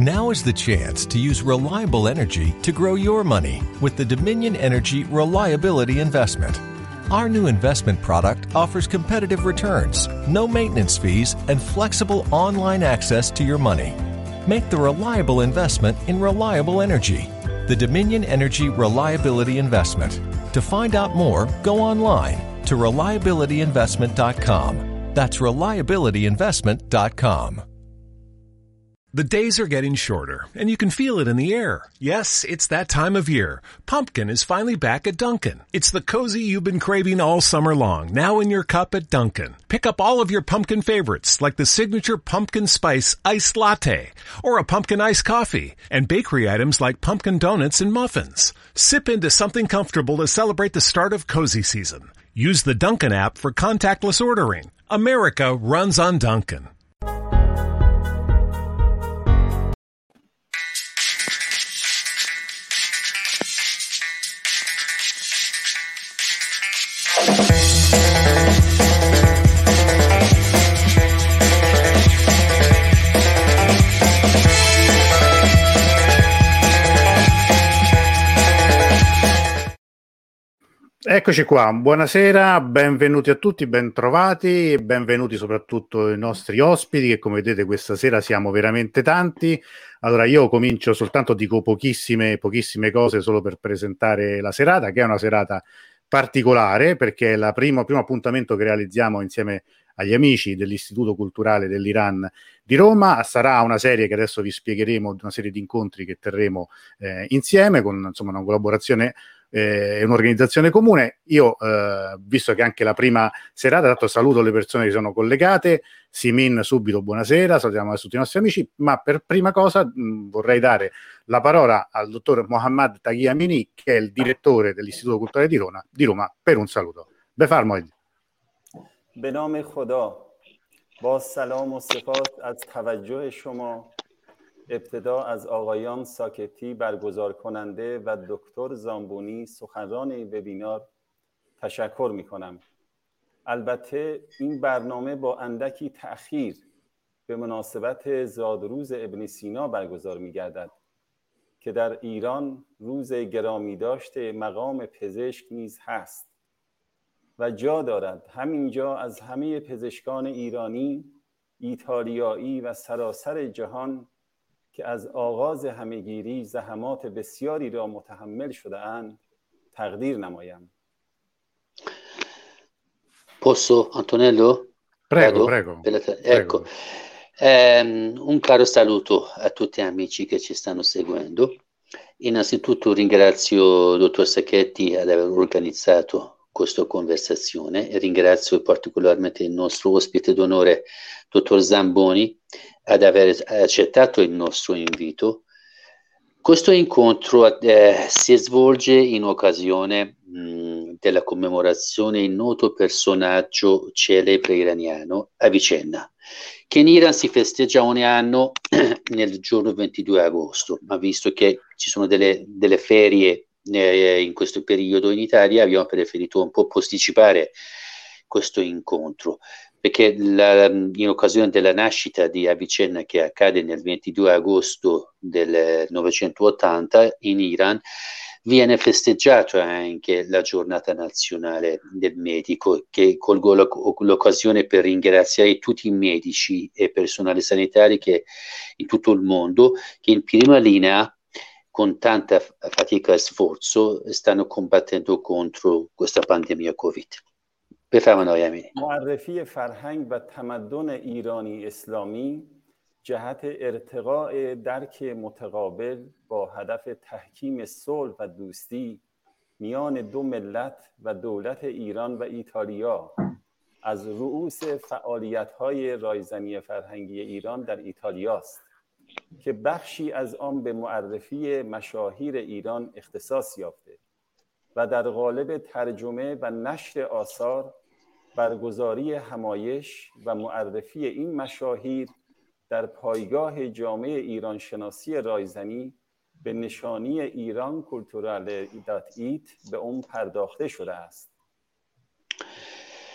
Now is the chance to use reliable energy to grow your money with the Dominion Energy Reliability Investment. Our new investment product offers competitive returns, no maintenance fees, and flexible online access to your money. Make the reliable investment in reliable energy. The Dominion Energy Reliability Investment. To find out more, go online to reliabilityinvestment.com. That's reliabilityinvestment.com. The days are getting shorter, and you can feel it in the air. Yes, it's that time of year. Pumpkin is finally back at Dunkin'. It's the cozy you've been craving all summer long, now in your cup at Dunkin'. Pick up all of your pumpkin favorites, like the signature pumpkin spice iced latte, or a pumpkin iced coffee, and bakery items like pumpkin donuts and muffins. Sip into something comfortable to celebrate the start of cozy season. Use the Dunkin' app for contactless ordering. America runs on Dunkin'. Eccoci qua, buonasera, benvenuti a tutti, bentrovati e benvenuti soprattutto i nostri ospiti che come vedete questa sera siamo veramente tanti. Allora io comincio soltanto, dico pochissime cose solo per presentare la serata, che è una serata particolare perché è il primo appuntamento che realizziamo insieme agli amici dell'Istituto Culturale dell'Iran di Roma. Sarà una serie che adesso vi spiegheremo, una serie di incontri che terremo insieme con insomma una collaborazione e un'organizzazione comune. Io visto che anche la prima serata, tanto saluto le persone che sono collegate. Simin, subito buonasera, salutiamo tutti i nostri amici, ma per prima cosa vorrei dare la parola al dottor Mohammad Taghi Amini, che è il direttore dell'Istituto Culturale di Roma, per un saluto. بفرمایید. به نام خدا، با سلام و سپاس از توجه شما، ابتدا از آقایان ساکتی برگزار کننده و دکتر زامبونی سخنران وبینار تشکر می کنم. البته این برنامه با اندکی تأخیر به مناسبت زادروز ابن سینا برگزار می گردد که در ایران روز گرامی داشته مقام پزشک نیز هست و جا دارد همینجا از همه پزشکان ایرانی، ایتالیایی و سراسر جهان که از آغاز همهگیری زحمات بسیاری را متحمل شده اند تقدیر نمایم. Posso, Antonello? Prego. Ecco, un caro saluto a tutti gli amici che ci stanno seguendo. Innanzitutto ringrazio il dottor Sacchetti di aver organizzato questa conversazione e ringrazio particolarmente il nostro ospite d'onore, dottor Zamboni, ad aver accettato il nostro invito. Questo incontro si svolge in occasione della commemorazione di un noto personaggio celebre iraniano, Avicenna, che in Iran si festeggia ogni anno nel giorno 22 agosto, ma visto che ci sono delle ferie in questo periodo in Italia, abbiamo preferito un po' posticipare questo incontro, perché in occasione della nascita di Avicenna, che accade nel 22 agosto del 980 in Iran, viene festeggiata anche la giornata nazionale del medico, che colgo l'occasione per ringraziare tutti i medici e personale sanitario che in tutto il mondo, che in prima linea con tanta fatica e sforzo stanno combattendo contro questa pandemia Covid. بفرمایید امینی. معرفی فرهنگ و تمدن ایرانی اسلامی جهت ارتقاء درک متقابل با هدف تحکیم صلح و دوستی میان دو ملت و دولت ایران و ایتالیا از رؤوس فعالیت‌های رایزنی فرهنگی ایران در ایتالیا است که بخشی از آن به معرفی مشاهیر ایران اختصاص یافته و در قالب ترجمه و نشر آثار، برگزاری همایش و معرفی این مشاهیر در پایگاه جامع ایران شناسی رایزنی به نشانی ایران کولتورال ایت به اون پرداخته شده است.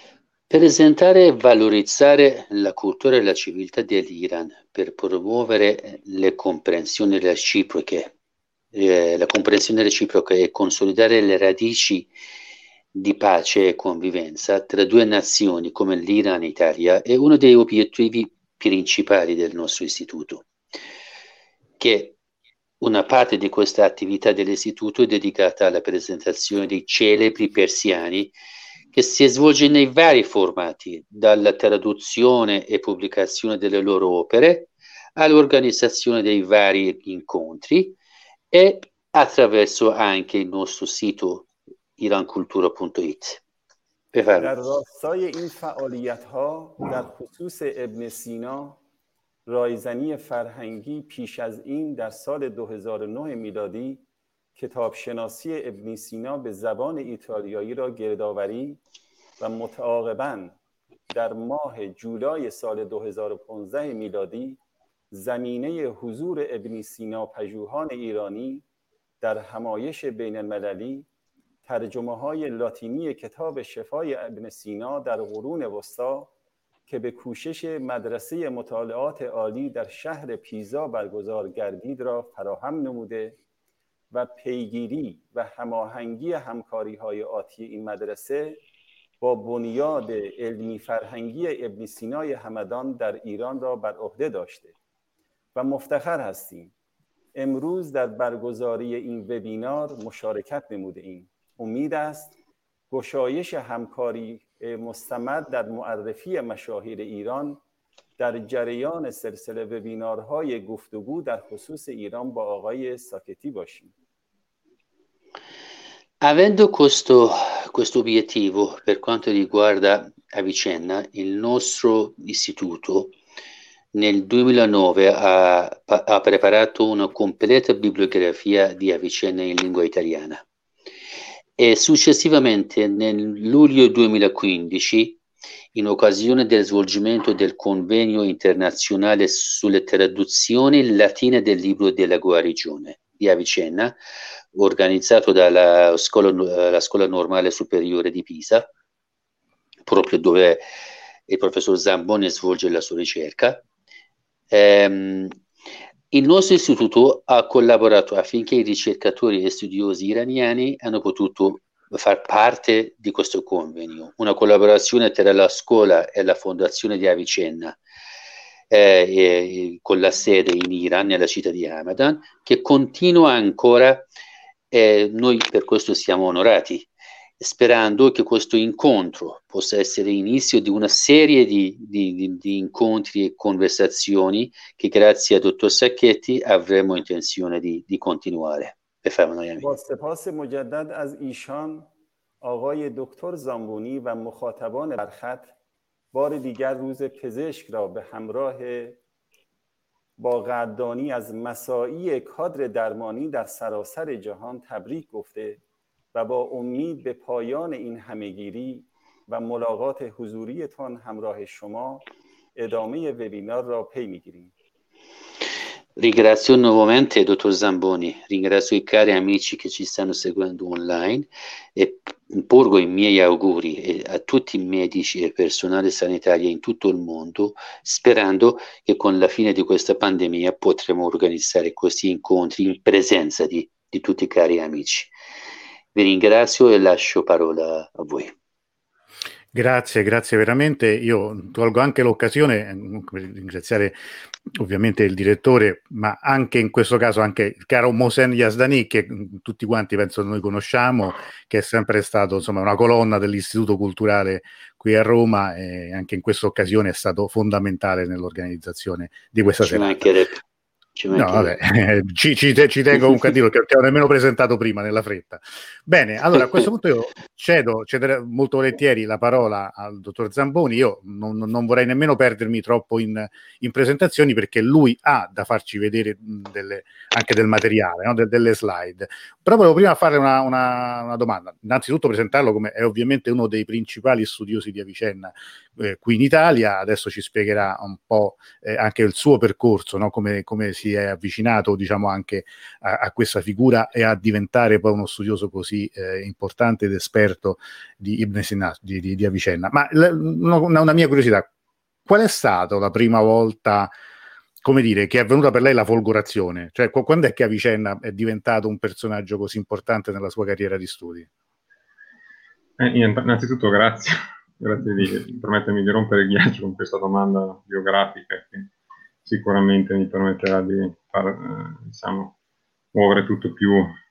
presentare e valorizzare la cultura e la civiltà dell'Iran per promuovere le comprensioni reciproche e consolidare le radici di pace e convivenza tra due nazioni come l'Iran e l'Italia è uno degli obiettivi principali del nostro istituto, che una parte di questa attività dell'istituto è dedicata alla presentazione dei celebri persiani, che si svolge nei vari formati, dalla traduzione e pubblicazione delle loro opere all'organizzazione dei vari incontri e attraverso anche il nostro sito irancultura.it. در راستای این فعالیت‌ها در خصوص ابن سینا رایزنی فرهنگی پیش از این در سال 2009 میلادی کتابشناسی ابن سینا به زبان ایتالیایی را گردآوری و متعاقباً در ماه جولای سال 2015 میلادی زمینه حضور ابن سینا پژوهان ایرانی در همایش بین المللی ترجمه‌های لاتینی کتاب شفای ابن سینا در قرون وسطی که به کوشش مدرسه مطالعات عالی در شهر پیزا برگزار گردید را فراهم نموده و پیگیری و هماهنگی همکاری‌های آتی این مدرسه با بنیاد علمی فرهنگی ابن سینای همدان در ایران را بر عهده داشته و مفتخر هستیم امروز در برگزاری این وبینار مشارکت نموده ایم. امید است گشایش همکاری مستمر در معرفی مشاهیر ایران در جریان سلسله وبینارهای گفتگو در خصوص ایران با آقای ساکتی باشیم. Avendo questo obiettivo per quanto riguarda Avicenna, il nostro istituto nel 2009 ha preparato una completa bibliografia di Avicenna in lingua italiana e successivamente nel luglio 2015, in occasione del svolgimento del convegno internazionale sulle traduzioni latine del libro della guarigione di Avicenna, organizzato dalla scuola normale superiore di Pisa, proprio dove il professor Zamboni svolge la sua ricerca. Il nostro istituto ha collaborato affinché i ricercatori e studiosi iraniani hanno potuto far parte di questo convegno, una collaborazione tra la scuola e la fondazione di Avicenna, con la sede in Iran, nella città di Hamadan, che continua ancora. Noi per questo siamo onorati, sperando che questo incontro possa essere l'inizio di una serie di incontri e conversazioni che grazie a dottor Sacchetti avremo intenzione di continuare. با سپاس مجدد از ایشان آقای دکتر زامبونی و مخاطبان برخط بار دیگر روز پزشک را به همراه با قدردانی از مساعی کادر درمانی در سراسر جهان تبریک گفته و با امید به پایان این همهگیری و ملاقات حضوریتان همراه شما ادامه وبینار را پی می‌گیریم. Ringrazio nuovamente il dottor Zamboni, ringrazio i cari amici che ci stanno seguendo online e porgo i miei auguri a tutti i medici e personale sanitario in tutto il mondo, sperando che con la fine di questa pandemia potremo organizzare questi incontri in presenza di tutti i cari amici. Vi ringrazio e lascio parola a voi. Grazie veramente. Io tolgo anche l'occasione per ringraziare ovviamente il direttore, ma anche in questo caso anche il caro Mohsen Yazdani, che tutti quanti penso noi conosciamo, che è sempre stato insomma una colonna dell'Istituto Culturale qui a Roma e anche in questa occasione è stato fondamentale nell'organizzazione di questa serata. No, vabbè, ci tengo comunque a dirlo, che non ti ho nemmeno presentato prima nella fretta. Bene, allora a questo punto io cederò molto volentieri la parola al dottor Zamboni. Io non vorrei nemmeno perdermi troppo in presentazioni, perché lui ha da farci vedere anche del materiale, no? delle slide. Però volevo prima fare una domanda. Innanzitutto presentarlo come è ovviamente uno dei principali studiosi di Avicenna qui in Italia. Adesso ci spiegherà un po' anche il suo percorso, no? come si si è avvicinato, diciamo, anche a questa figura e a diventare poi uno studioso così importante ed esperto di Ibn Sina, di Avicenna. Ma una mia curiosità, qual è stata la prima volta, come dire, che è avvenuta per lei la folgorazione? Cioè, quando è che Avicenna è diventato un personaggio così importante nella sua carriera di studi? Innanzitutto grazie, grazie di permettermi di rompere il ghiaccio con questa domanda biografica che sicuramente mi permetterà di far, diciamo, muovere tutto più,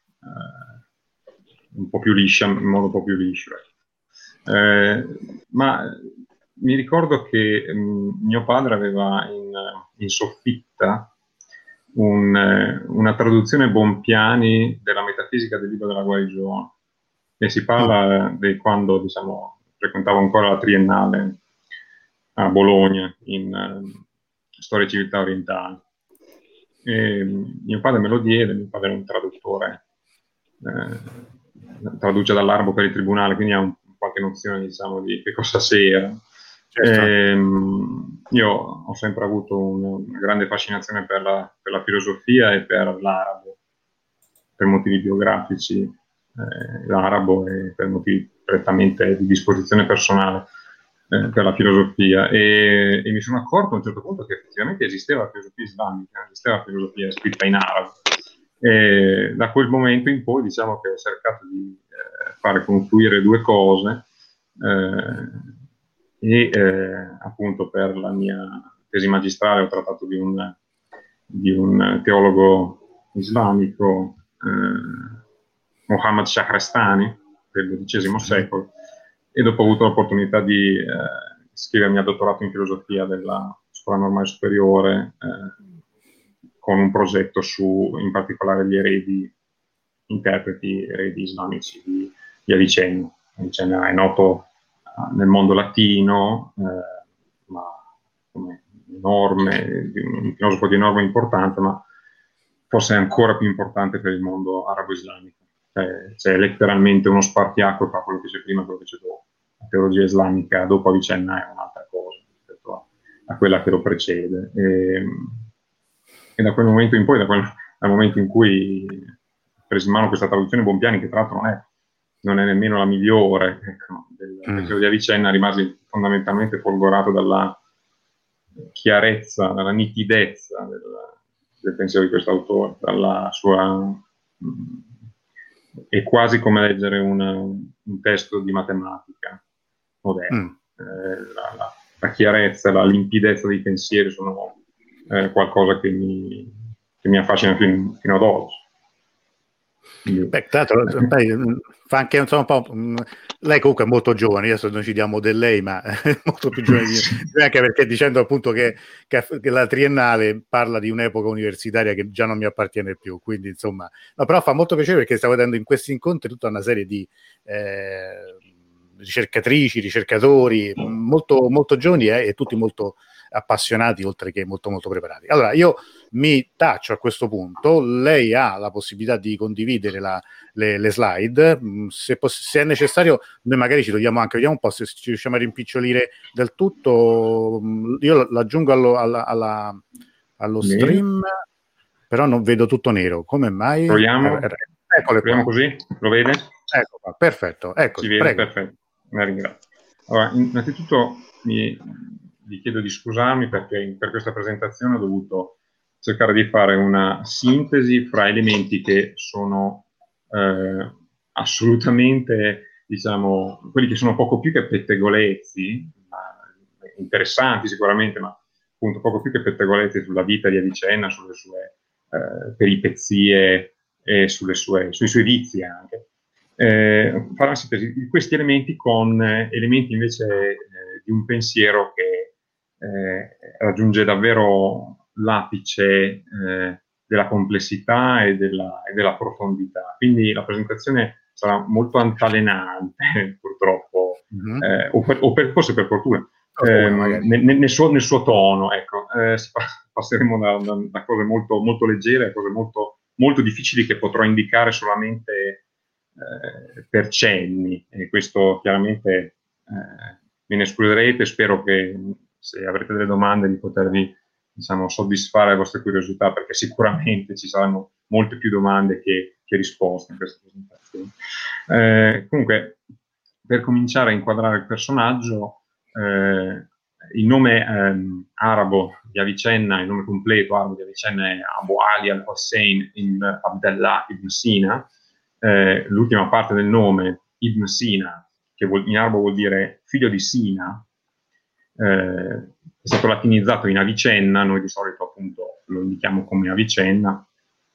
un po' più liscia, in modo un po' più liscio. Ma mi ricordo che mio padre aveva in soffitta una traduzione Bompiani della metafisica del libro della guarigione, e si parla di quando, diciamo, frequentavo ancora la triennale a Bologna in storia e civiltà orientale. E mio padre me lo diede. Mio padre è un traduttore, traduce dall'arabo per il tribunale, quindi ha qualche nozione, diciamo, di che cosa sia. Certo. Io ho sempre avuto una grande fascinazione per la filosofia e per l'arabo, per motivi biografici, l'arabo, e per motivi prettamente di disposizione personale per la filosofia, e mi sono accorto a un certo punto che effettivamente esisteva la filosofia islamica, esisteva la filosofia scritta in arabo, e da quel momento in poi, diciamo, che ho cercato di fare confluire due cose, e appunto per la mia tesi magistrale ho trattato di un teologo islamico, Mohammad Shahrastani, del XII secolo, e dopo ho avuto l'opportunità di iscrivermi al dottorato in filosofia della scuola normale superiore, con un progetto in particolare gli interpreti eredi islamici di Avicenna. Avicenna è noto nel mondo latino, ma come un filosofo di enorme importanza, ma forse è ancora più importante per il mondo arabo-islamico. C'è letteralmente uno spartiacque tra quello che c'è prima e quello che c'è dopo. La teologia islamica dopo Avicenna è un'altra cosa rispetto a quella che lo precede. E da quel momento in poi, dal momento in cui ho preso in mano questa traduzione Bompiani, che tra l'altro non è nemmeno la migliore, ecco, del pensiero di Avicenna, rimasi fondamentalmente folgorato dalla chiarezza, dalla nitidezza del pensiero di questo autore, dalla sua... è quasi come leggere un testo di matematica moderno. La chiarezza, la limpidezza dei pensieri sono qualcosa che mi affascina fino ad oggi. Beh, tra l'altro, fa anche, insomma, un po', lei comunque è molto giovane, adesso noi ci diamo del lei, ma è molto più giovane di me, anche perché dicendo appunto che la triennale parla di un'epoca universitaria che già non mi appartiene più, quindi insomma, no, però fa molto piacere perché stiamo vedendo in questi incontri tutta una serie di ricercatrici, ricercatori molto, molto giovani e tutti molto appassionati, oltre che molto molto preparati. Allora io mi taccio a questo punto, lei ha la possibilità di condividere le slide, se è necessario noi magari ci togliamo anche, vediamo un po' se ci riusciamo a rimpicciolire del tutto, io l'aggiungo allo stream, però non vedo tutto nero, come mai? Proviamo, eccole proviamo qua. Così, lo vede? Ecco qua, perfetto, ecco, si vede, prego. Perfetto, la ringrazio. Allora, innanzitutto vi chiedo di scusarmi perché per questa presentazione ho dovuto cercare di fare una sintesi fra elementi che sono assolutamente, diciamo, quelli che sono poco più che pettegolezzi, interessanti sicuramente, ma appunto poco più che pettegolezzi sulla vita di Avicenna, sulle sue peripezie e sui suoi vizi anche. Fare una sintesi di questi elementi con elementi invece di un pensiero che raggiunge davvero l'apice della complessità e della profondità. Quindi la presentazione sarà molto altalenante, purtroppo, forse per fortuna, nel suo tono. Ecco, passeremo da cose molto, molto leggere a cose molto, molto difficili che potrò indicare solamente per cenni, e questo chiaramente me ne scuserete. Spero che, se avrete delle domande, di potervi diciamo, soddisfare le vostre curiosità, perché sicuramente ci saranno molte più domande che risposte in questa presentazione. Comunque, per cominciare a inquadrare il personaggio, il nome arabo di Avicenna, il nome completo arabo di Avicenna è Abu Ali al-Hussein ibn Abdallah ibn Sina. L'ultima parte del nome, Ibn Sina, che in arabo vuol dire figlio di Sina, è stato latinizzato in Avicenna, noi di solito appunto lo indichiamo come Avicenna.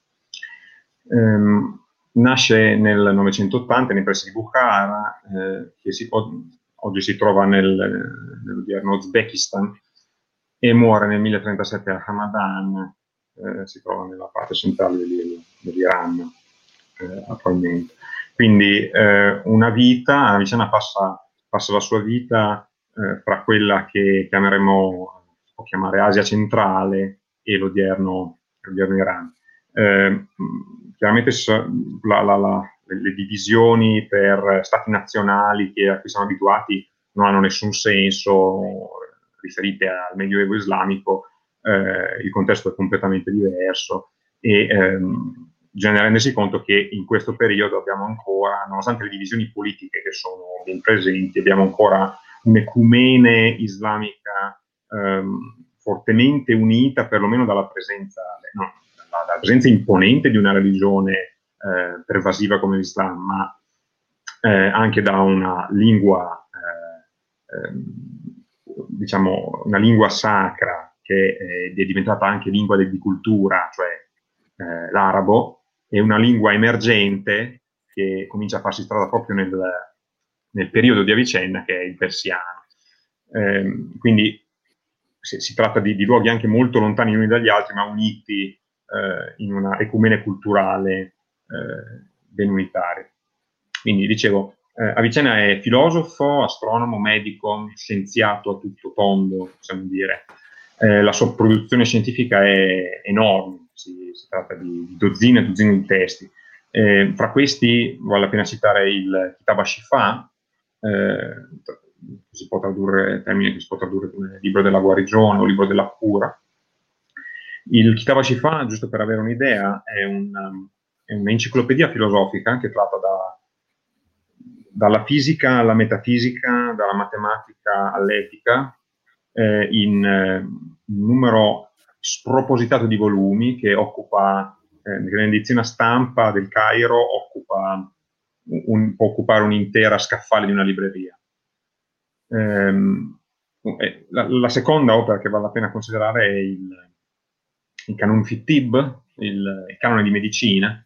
Nasce nel 980 nei pressi di Bukhara, che oggi si trova nell'odierno Uzbekistan, e muore nel 1037 a Hamadan, si trova nella parte centrale dell'Iran attualmente. Quindi Avicenna passa la sua vita fra quella che si può chiamare Asia centrale e l'odierno Iran. Chiaramente le divisioni per stati nazionali a cui siamo abituati non hanno nessun senso, riferite al Medioevo islamico. Il contesto è completamente diverso e bisogna rendersi conto che in questo periodo abbiamo ancora, nonostante le divisioni politiche che sono ben presenti, abbiamo ancora un'ecumene islamica fortemente unita, perlomeno dalla presenza imponente di una religione pervasiva come l'Islam, ma anche da una lingua, diciamo, una lingua sacra che è diventata anche lingua di cultura, cioè l'arabo, e una lingua emergente che comincia a farsi strada proprio nel periodo di Avicenna, che è il persiano. Quindi si tratta di luoghi anche molto lontani gli uni dagli altri, ma uniti in una ecumene culturale ben unitaria. Quindi, dicevo, Avicenna è filosofo, astronomo, medico, scienziato a tutto tondo, possiamo dire. La sua produzione scientifica è enorme, si tratta di dozzine e dozzine di testi. Fra questi vale la pena citare il Kitab al-Shifa, si può tradurre, termine che si può tradurre come libro della guarigione o libro della cura. Il Kitab al-Shifa, giusto per avere un'idea, è un'enciclopedia filosofica che tratta dalla fisica alla metafisica, dalla matematica all'etica, in un numero spropositato di volumi che occupa, nell'edizione a stampa del Cairo, può occupare un'intera scaffale di una libreria. La seconda opera che vale la pena considerare è il Canun fi Tib, il canone di medicina.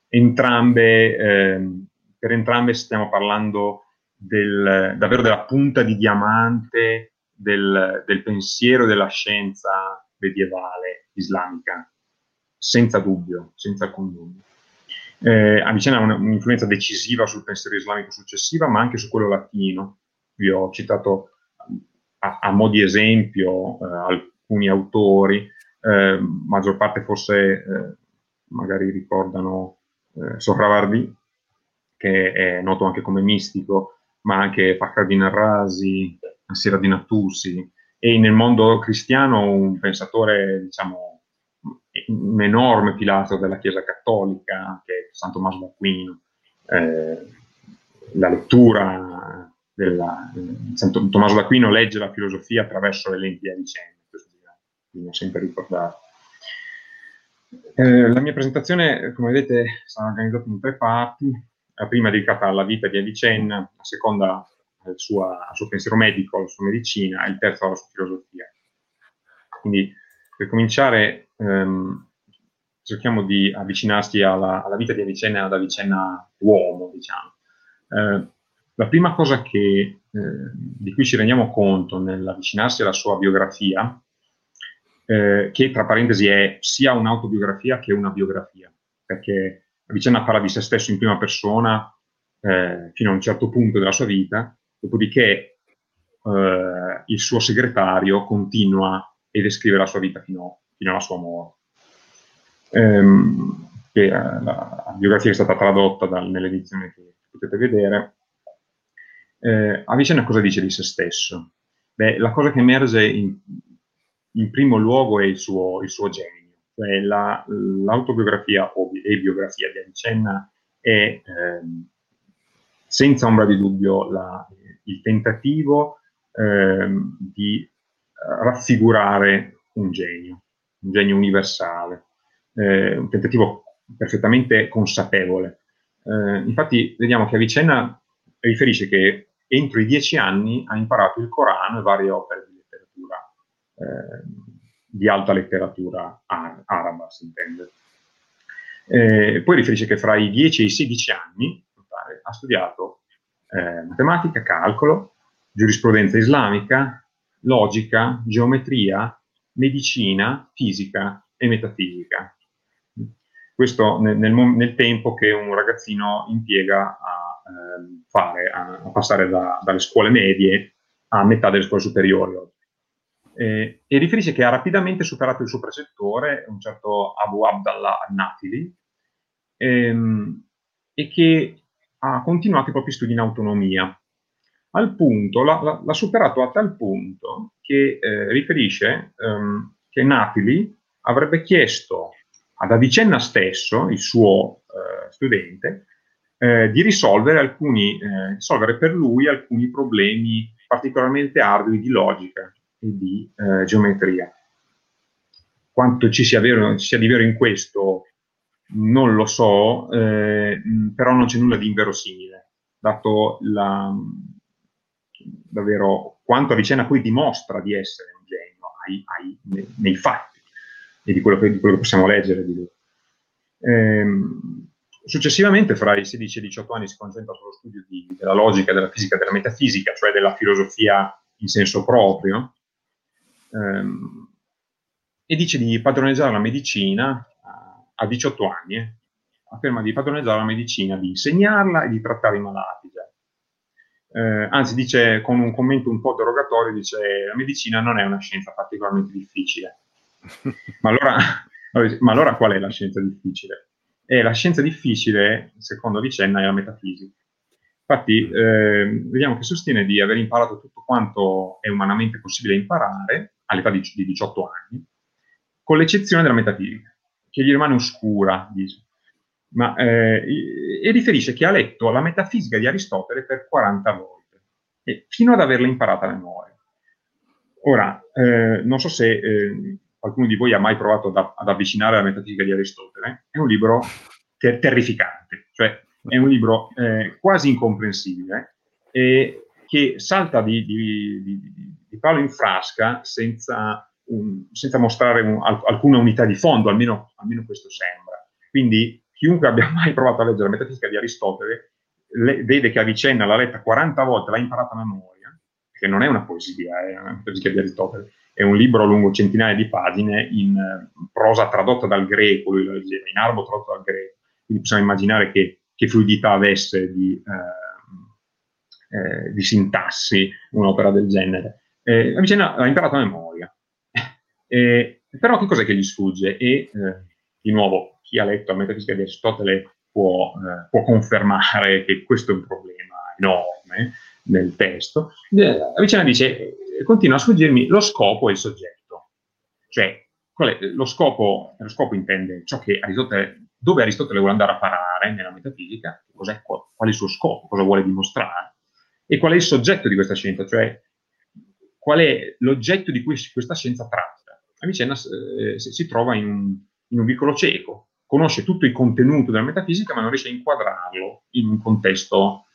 Per entrambe stiamo parlando davvero della punta di diamante del pensiero della scienza medievale islamica, senza dubbio, senza alcun dubbio. Avicenna ha un'influenza decisiva sul pensiero islamico successiva, ma anche su quello latino. Vi ho citato a mo' di esempio alcuni autori, maggior parte forse magari ricordano Sohravardi, che è noto anche come mistico, ma anche Fakhreddin al-Razi, Siraddin Tusi, e nel mondo cristiano un pensatore, diciamo, un enorme pilastro della Chiesa cattolica, che è San Tommaso d'Aquino. La lettura San Tommaso d'Aquino legge la filosofia attraverso le lenti di Avicenna, questo bisogna sempre ricordare. La mia presentazione, come vedete, sarà organizzata in 3 parti. La prima è dedicata alla vita di Avicenna, la seconda al suo pensiero medico, alla sua medicina, e il terzo alla sua filosofia. Quindi, per cominciare, cerchiamo di avvicinarsi alla vita di Avicenna e ad Avicenna uomo, diciamo. La prima cosa di cui ci rendiamo conto nell'avvicinarsi alla sua biografia, che tra parentesi è sia un'autobiografia che una biografia, perché Avicenna parla di se stesso in prima persona fino a un certo punto della sua vita, dopodiché il suo segretario continua e descrive la sua vita fino alla sua morte. La biografia è stata tradotta nell'edizione che potete vedere. Avicenna cosa dice di se stesso? Beh, la cosa che emerge in primo luogo è il suo genio, cioè l'autobiografia e biografia di Avicenna è senza ombra di dubbio il tentativo di raffigurare un genio universale, un tentativo perfettamente consapevole. Infatti vediamo che Avicenna riferisce che entro i 10 anni ha imparato il Corano e varie opere di letteratura, di alta letteratura araba, si intende. Poi riferisce che fra i 10 e i 16 anni ha studiato matematica, calcolo, giurisprudenza islamica, logica, geometria, medicina, fisica e metafisica. Questo nel tempo che un ragazzino impiega a passare dalle scuole medie a metà delle scuole superiori. E riferisce che ha rapidamente superato il suo precettore, un certo Abu Abdallah al-Nafili, e che ha continuato i propri studi in autonomia. Al punto, l'ha superato a tal punto che riferisce che Nafili avrebbe chiesto ad Avicenna stesso, il suo studente, di risolvere per lui alcuni problemi particolarmente ardui di logica e di geometria. Quanto ci sia di vero in questo non lo so, però non c'è nulla di inverosimile, dato davvero quanto Avicenna poi dimostra di essere un genio nei fatti e di quello che possiamo leggere di lui. Successivamente, fra i 16 e i 18 anni, si concentra sullo studio della logica, della fisica, della metafisica, cioè della filosofia in senso proprio, e dice di padroneggiare la medicina a 18 anni. Afferma di padroneggiare la medicina, di insegnarla e di trattare i malati. Anzi, dice con un commento un po' derogatorio, dice: la medicina non è una scienza particolarmente difficile. Ma allora qual è la scienza difficile? La scienza difficile, secondo Avicenna, è la metafisica. Infatti, vediamo che sostiene di aver imparato tutto quanto è umanamente possibile imparare all'età di 18 anni, con l'eccezione della metafisica, che gli rimane oscura, dice. E riferisce che ha letto la metafisica di Aristotele per 40 volte, fino ad averla imparata a memoria. Ora, non so se qualcuno di voi ha mai provato ad avvicinare la metafisica di Aristotele. È un libro terrificante, cioè è un libro quasi incomprensibile, che salta di palo in frasca senza mostrare alcuna unità di fondo, almeno questo sembra. Quindi chiunque abbia mai provato a leggere la metafisica di Aristotele vede che Avicenna l'ha letta 40 volte, l'ha imparata a memoria, che non è una poesia, è una metafisica di Aristotele, è un libro lungo centinaia di pagine in prosa tradotta dal greco, lui lo leggeva, in arabo tradotto dal greco, quindi possiamo immaginare che fluidità avesse di sintassi un'opera del genere. Avicenna l'ha imparata a memoria. Però che cos'è che gli sfugge? E di nuovo, chi ha letto la metafisica di Aristotele può confermare che questo è un problema enorme nel testo. Avicenna dice: continua a sfuggirmi lo scopo e il soggetto. Cioè, lo scopo intende ciò che dove Aristotele vuole andare a parare nella metafisica, qual è il suo scopo, cosa vuole dimostrare, e qual è il soggetto di questa scienza, cioè qual è l'oggetto di cui questa scienza tratta. Avicenna si trova in un vicolo cieco, conosce tutto il contenuto della metafisica, ma non riesce a inquadrarlo in un contesto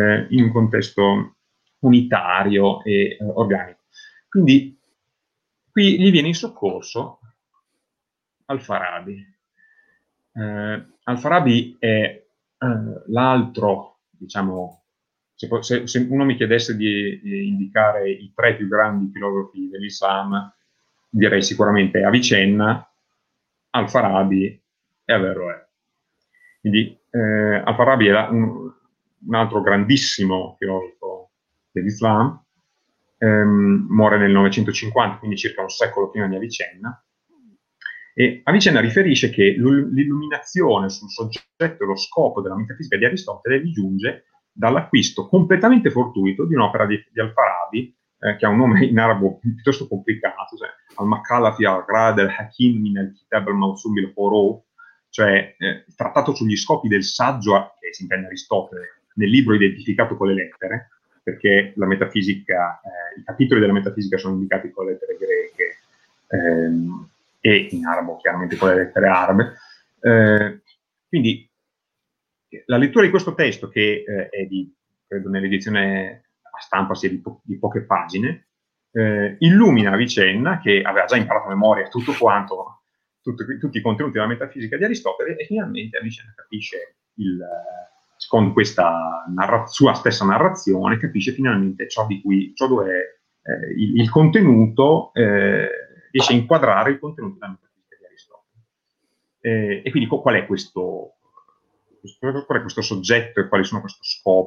unitario e organico. Quindi qui gli viene in soccorso Al-Farabi. Al-Farabi è l'altro, diciamo, se uno mi chiedesse di indicare i 3 più grandi filosofi dell'Islam, direi sicuramente Avicenna, Al-Farabi e Averroè. Quindi Al-Farabi è un altro grandissimo filosofo dell'Islam, muore nel 950, quindi circa un secolo prima di Avicenna, e Avicenna riferisce che l'illuminazione sul soggetto e lo scopo della metafisica di Aristotele gli giunge dall'acquisto completamente fortuito di un'opera di Al-Farabi, che ha un nome in arabo piuttosto complicato, cioè al-Maqala fi al-Grad al-Hakim min al-Kitab al-Mawsum bil-Huruf, cioè il trattato sugli scopi del saggio, che si intende Aristotele, nel libro identificato con le lettere, perché la metafisica, i capitoli della metafisica sono indicati con le lettere greche e in arabo, chiaramente con le lettere arabe. Quindi la lettura di questo testo, che è di, credo nell'edizione a stampa sia di poche pagine, illumina Avicenna, che aveva già imparato a memoria tutto quanto, tutti i contenuti della metafisica di Aristotele, e finalmente Avicenna capisce, secondo questa sua stessa narrazione, capisce finalmente ciò dove il contenuto, riesce a inquadrare il contenuto della metafisica di Aristotele. E quindi qual è questo soggetto e quali sono questi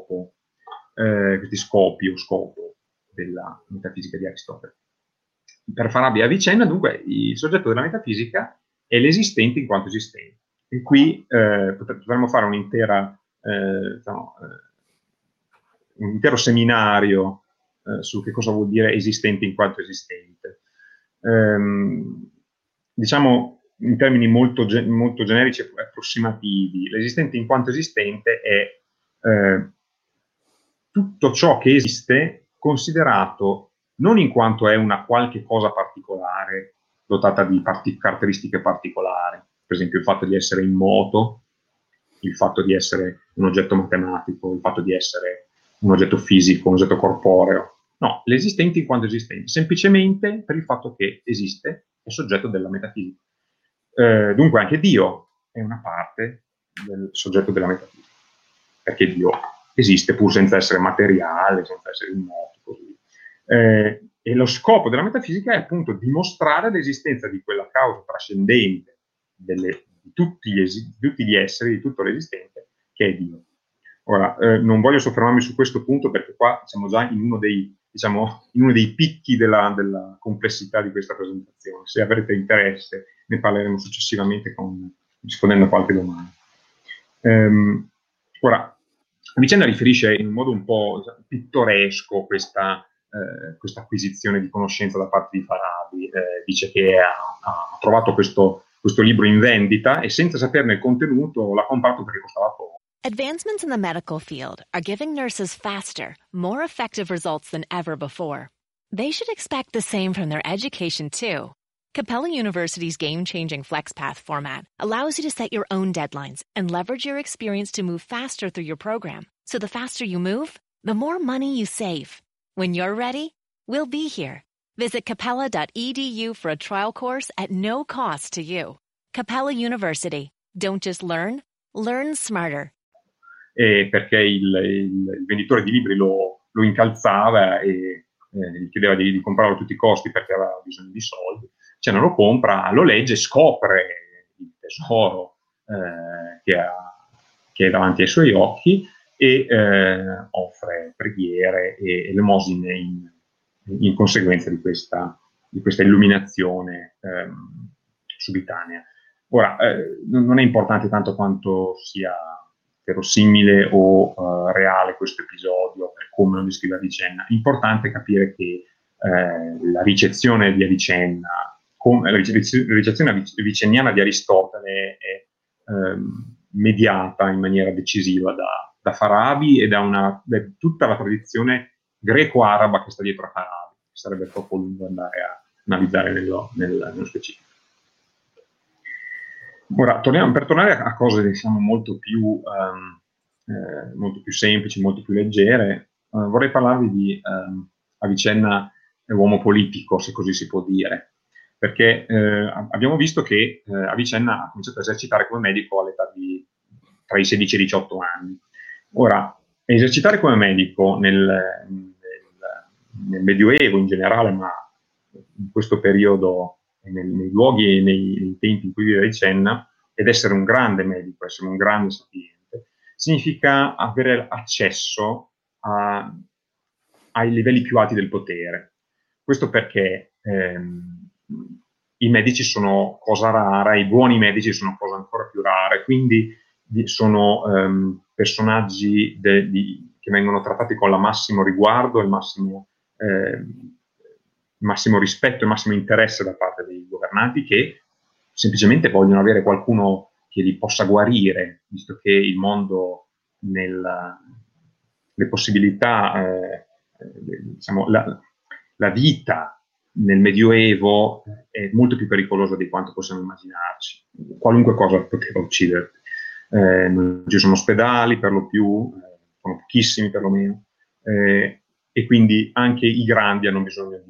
scopi o scopo della metafisica di Aristotele? Per Farabi e Avicenna, dunque, il soggetto della metafisica è l'esistente in quanto esistente. E qui potremmo fare un intero seminario su che cosa vuol dire esistente in quanto esistente. Diciamo in termini molto generici e approssimativi, l'esistente in quanto esistente è tutto ciò che esiste considerato non in quanto è una qualche cosa particolare, dotata di caratteristiche particolari, per esempio il fatto di essere in moto, il fatto di essere un oggetto matematico, il fatto di essere un oggetto fisico, un oggetto corporeo. No, l'esistente in quanto esistente, semplicemente per il fatto che esiste, è soggetto della metafisica. Dunque anche Dio è una parte del soggetto della metafisica, perché Dio esiste pur senza essere materiale, senza essere in moto, così. E lo scopo della metafisica è appunto dimostrare l'esistenza di quella causa trascendente di tutti gli esseri, di tutto l'esistente, che è Dio. Ora, non voglio soffermarmi su questo punto perché qua siamo già in uno dei picchi della complessità di questa presentazione. Se avrete interesse, ne parleremo successivamente rispondendo a qualche domanda. Ora, Avicenna riferisce in un modo un po' pittoresco questa acquisizione di conoscenza da parte di Farabi. Dice che ha trovato questo libro in vendita e senza saperne il contenuto l'ha comprato perché costava poco. Advancements in the medical field are giving nurses faster, more effective results than ever before. They should expect the same from their education, too. Capella University's game-changing FlexPath format allows you to set your own deadlines and leverage your experience to move faster through your program. So the faster you move, the more money you save. When you're ready, we'll be here. Visit capella.edu for a trial course at no cost to you. Capella University. Don't just learn smarter. Perché il venditore di libri lo incalzava e gli chiedeva di comprarlo a tutti i costi perché aveva bisogno di soldi. Cioè non lo compra, lo legge, scopre il tesoro che è davanti ai suoi occhi e offre preghiere e elemosine in conseguenza di questa illuminazione subitanea. Ora, non è importante tanto quanto sia verosimile o reale questo episodio, per come lo descrive Avicenna. È importante capire che la ricezione di Avicenna, la ricezione aviceniana di Aristotele è mediata in maniera decisiva da Farabi e da tutta la tradizione greco-araba che sta dietro a Farabi. Sarebbe troppo lungo andare a analizzare nello specifico. Ora, per tornare a cose diciamo molto più semplici, molto più leggere, vorrei parlarvi di Avicenna uomo politico, se così si può dire, perché abbiamo visto che Avicenna ha cominciato a esercitare come medico all'età tra i 16 e i 18 anni. Ora, esercitare come medico nel Medioevo in generale, ma in questo periodo nei luoghi e nei tempi in cui vive Avicenna, ed essere un grande medico, essere un grande sapiente, significa avere accesso ai livelli più alti del potere. Questo perché i medici sono cosa rara, i buoni medici sono cosa ancora più rara, quindi sono personaggi che vengono trattati con il massimo riguardo, il massimo massimo rispetto e massimo interesse da parte dei governanti, che semplicemente vogliono avere qualcuno che li possa guarire, visto che il mondo, le possibilità, diciamo, la vita nel Medioevo è molto più pericolosa di quanto possiamo immaginarci. Qualunque cosa poteva ucciderti. Non ci sono ospedali, per lo più, sono pochissimi perlomeno, e quindi anche i grandi hanno bisogno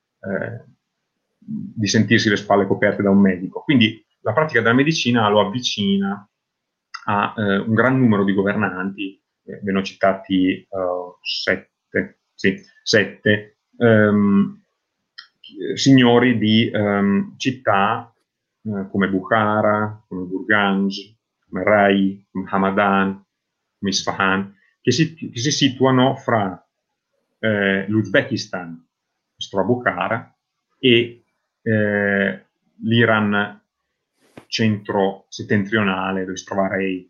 di sentirsi le spalle coperte da un medico. Quindi la pratica della medicina lo avvicina a un gran numero di governanti, ve ne ho citati sette, signori di città come Bukhara, come Burganj, come Rai, come Hamadan, come Isfahan, che si situano fra l'Uzbekistan, che si trova a Bukhara, e l'Iran centro-settentrionale, dove si trova Rai,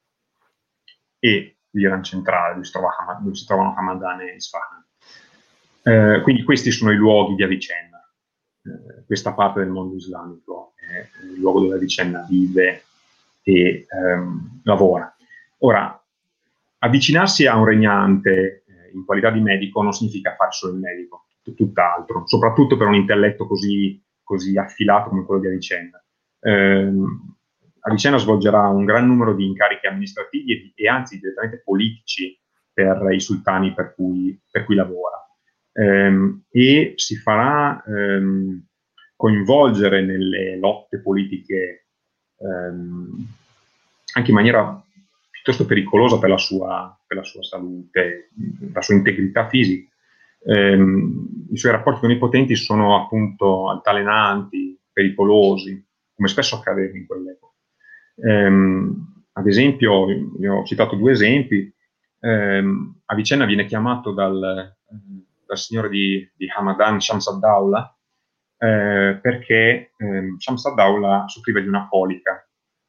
e l'Iran centrale, dove si trovano Hamadan e Isfahan. Quindi questi sono i luoghi di Avicenna. Questa parte del mondo islamico è il luogo dove Avicenna vive e lavora. Ora, avvicinarsi a un regnante in qualità di medico non significa fare solo il medico, tutt'altro, soprattutto per un intelletto così affilato come quello di Avicenna. Avicenna svolgerà un gran numero di incarichi amministrativi e anzi direttamente politici per i sultani per cui lavora. E si farà coinvolgere nelle lotte politiche anche in maniera piuttosto pericolosa per la sua salute, la sua integrità fisica. I suoi rapporti con i potenti sono appunto altalenanti, pericolosi, come spesso accadeva in quell'epoca. Ad esempio, io ho citato due esempi. Avicenna viene chiamato dal signore di Hamadan, Shams ad-Dawla, perché Shams ad-Dawla soffriva di una colica.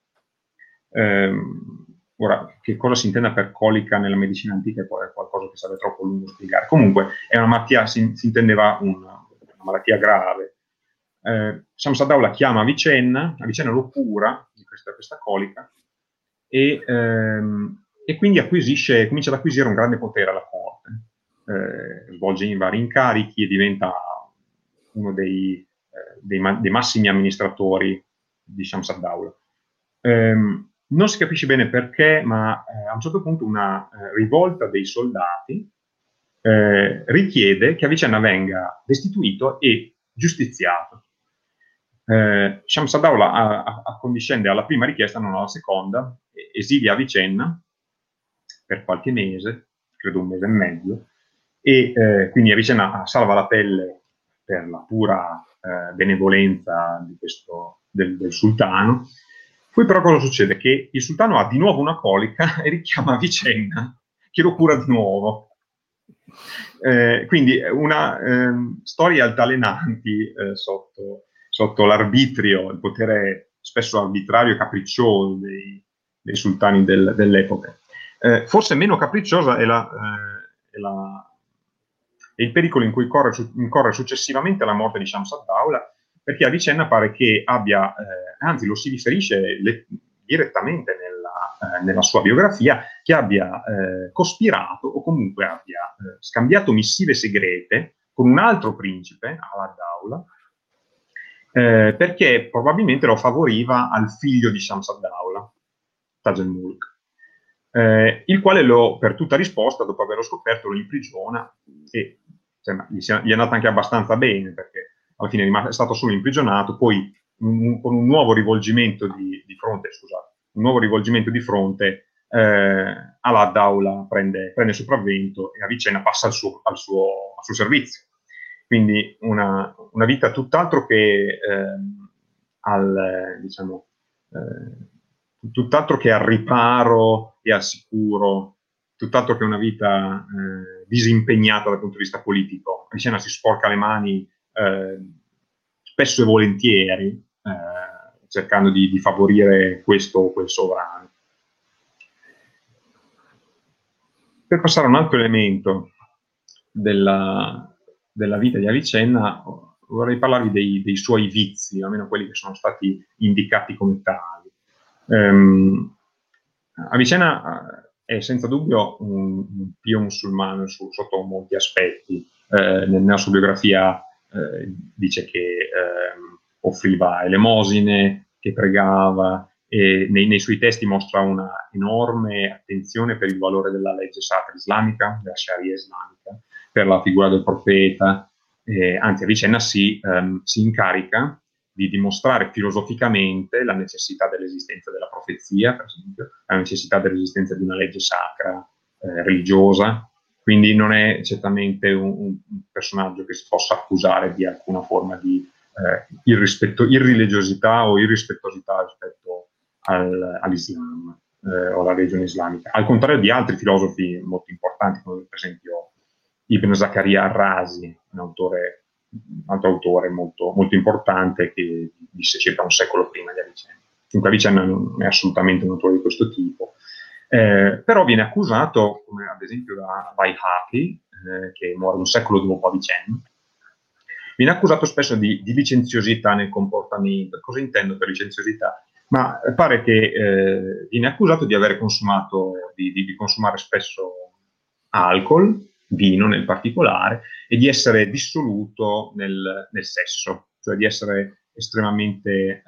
Ora, che cosa si intenda per colica nella medicina antica è qualcosa che sarebbe troppo lungo spiegare. Comunque, è una malattia, si intendeva una malattia grave. Shams ad-Dawla chiama Avicenna lo cura di questa colica e quindi comincia ad acquisire un grande potere alla corte. Svolge in vari incarichi e diventa uno dei massimi amministratori di Shams ad-Dawla. Non si capisce bene perché, ma a un certo punto una rivolta dei soldati richiede che Avicenna venga destituito e giustiziato. Shams ad-Dawla accondiscende alla prima richiesta, non alla seconda, esilia Avicenna per qualche mese, credo un mese e mezzo, e quindi Avicenna salva la pelle per la pura benevolenza del sultano. Poi però cosa succede? Che il sultano ha di nuovo una colica e richiama Avicenna, che lo cura di nuovo. Quindi una storie altalenanti sotto l'arbitrio, il potere spesso arbitrario e capriccioso dei sultani dell'epoca. Forse meno capricciosa è il pericolo in cui incorre successivamente alla morte di Shams ad-Dawla, perché Avicenna pare che abbia, anzi lo si riferisce direttamente nella sua biografia, che abbia cospirato o comunque abbia scambiato missive segrete con un altro principe, Al-Dawla, perché probabilmente lo favoriva al figlio di Shams ad-Dawla, Taj al-Mulk, il quale per tutta risposta, dopo averlo scoperto, lo imprigiona e gli è andata anche abbastanza bene, perché alla fine è stato solo imprigionato. Poi con un nuovo rivolgimento di fronte, Al-Dawla prende sopravvento e Avicenna passa al suo servizio. Quindi una vita tutt'altro che tutt'altro che al riparo e al sicuro, tutt'altro che una vita disimpegnata dal punto di vista politico. Avicenna si sporca le mani spesso e volentieri, cercando di favorire questo o quel sovrano. Per passare a un altro elemento del della vita di Avicenna, vorrei parlarvi dei suoi vizi, almeno quelli che sono stati indicati come tali. Avicenna è senza dubbio un pio musulmano sotto molti aspetti. Nella sua biografia dice che offriva elemosine, che pregava, e nei suoi testi mostra una enorme attenzione per il valore della legge sacra islamica, della Sharia islamica, per la figura del profeta. Anzi, Avicenna si incarica di dimostrare filosoficamente la necessità dell'esistenza della profezia, per esempio, la necessità dell'esistenza di una legge sacra religiosa. Quindi non è certamente un personaggio che si possa accusare di alcuna forma di irreligiosità o irrispettosità rispetto all'Islam o alla religione islamica, al contrario di altri filosofi molto importanti, come per esempio Ibn Zakaria al-Razi, un altro autore molto, molto importante che visse circa un secolo prima di Avicenna. Dunque Avicenna non è assolutamente un autore di questo tipo, però viene accusato, come ad esempio da Baihaqi, che muore un secolo dopo Avicenna, viene accusato spesso di licenziosità nel comportamento. Cosa intendo per licenziosità? Ma pare che viene accusato di aver consumato, di consumare spesso alcol, vino nel particolare, e di essere dissoluto nel sesso, cioè di essere estremamente,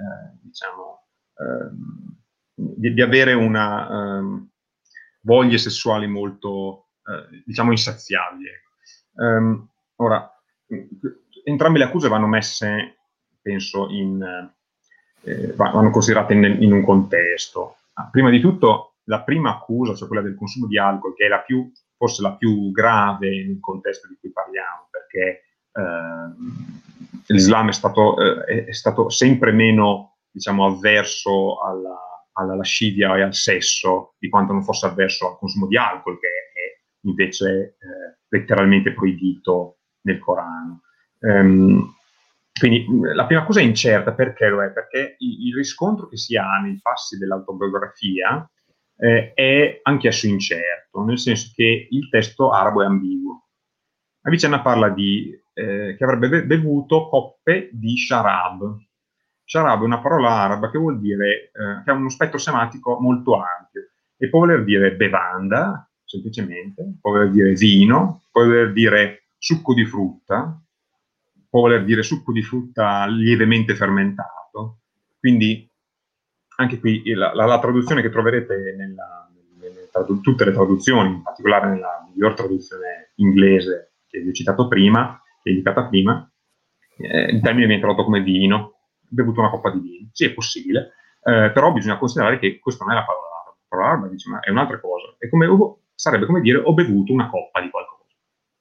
di avere una voglie sessuali molto, insaziabili. Ora, entrambe le accuse vanno messe, penso, vanno considerate in un contesto. Prima di tutto, la prima accusa, cioè quella del consumo di alcol, che è forse la più grave nel contesto di cui parliamo, perché l'Islam è stato sempre meno, avverso alla lascivia e al sesso di quanto non fosse avverso al consumo di alcol, che è invece letteralmente proibito nel Corano. Quindi la prima cosa è incerta. Perché lo è? Perché il riscontro che si ha nei passi dell'autobiografia è anch'esso incerto, nel senso che il testo arabo è ambiguo. Avicenna parla che avrebbe bevuto coppe di sharab. Sharab è una parola araba che vuol dire, che ha uno spettro sematico molto ampio, e può voler dire bevanda, semplicemente, può voler dire vino, può voler dire succo di frutta, può voler dire succo di frutta lievemente fermentato. Quindi anche qui la traduzione che troverete tutte le traduzioni, in particolare nella miglior traduzione inglese che vi ho citato prima, che è indicata prima, il termine viene tradotto come vino. Ho bevuto una coppa di vino. Sì, è possibile, però bisogna considerare che questa non è la parola araba. La parola araba dice, ma è un'altra cosa. Sarebbe come dire ho bevuto una coppa di qualcosa.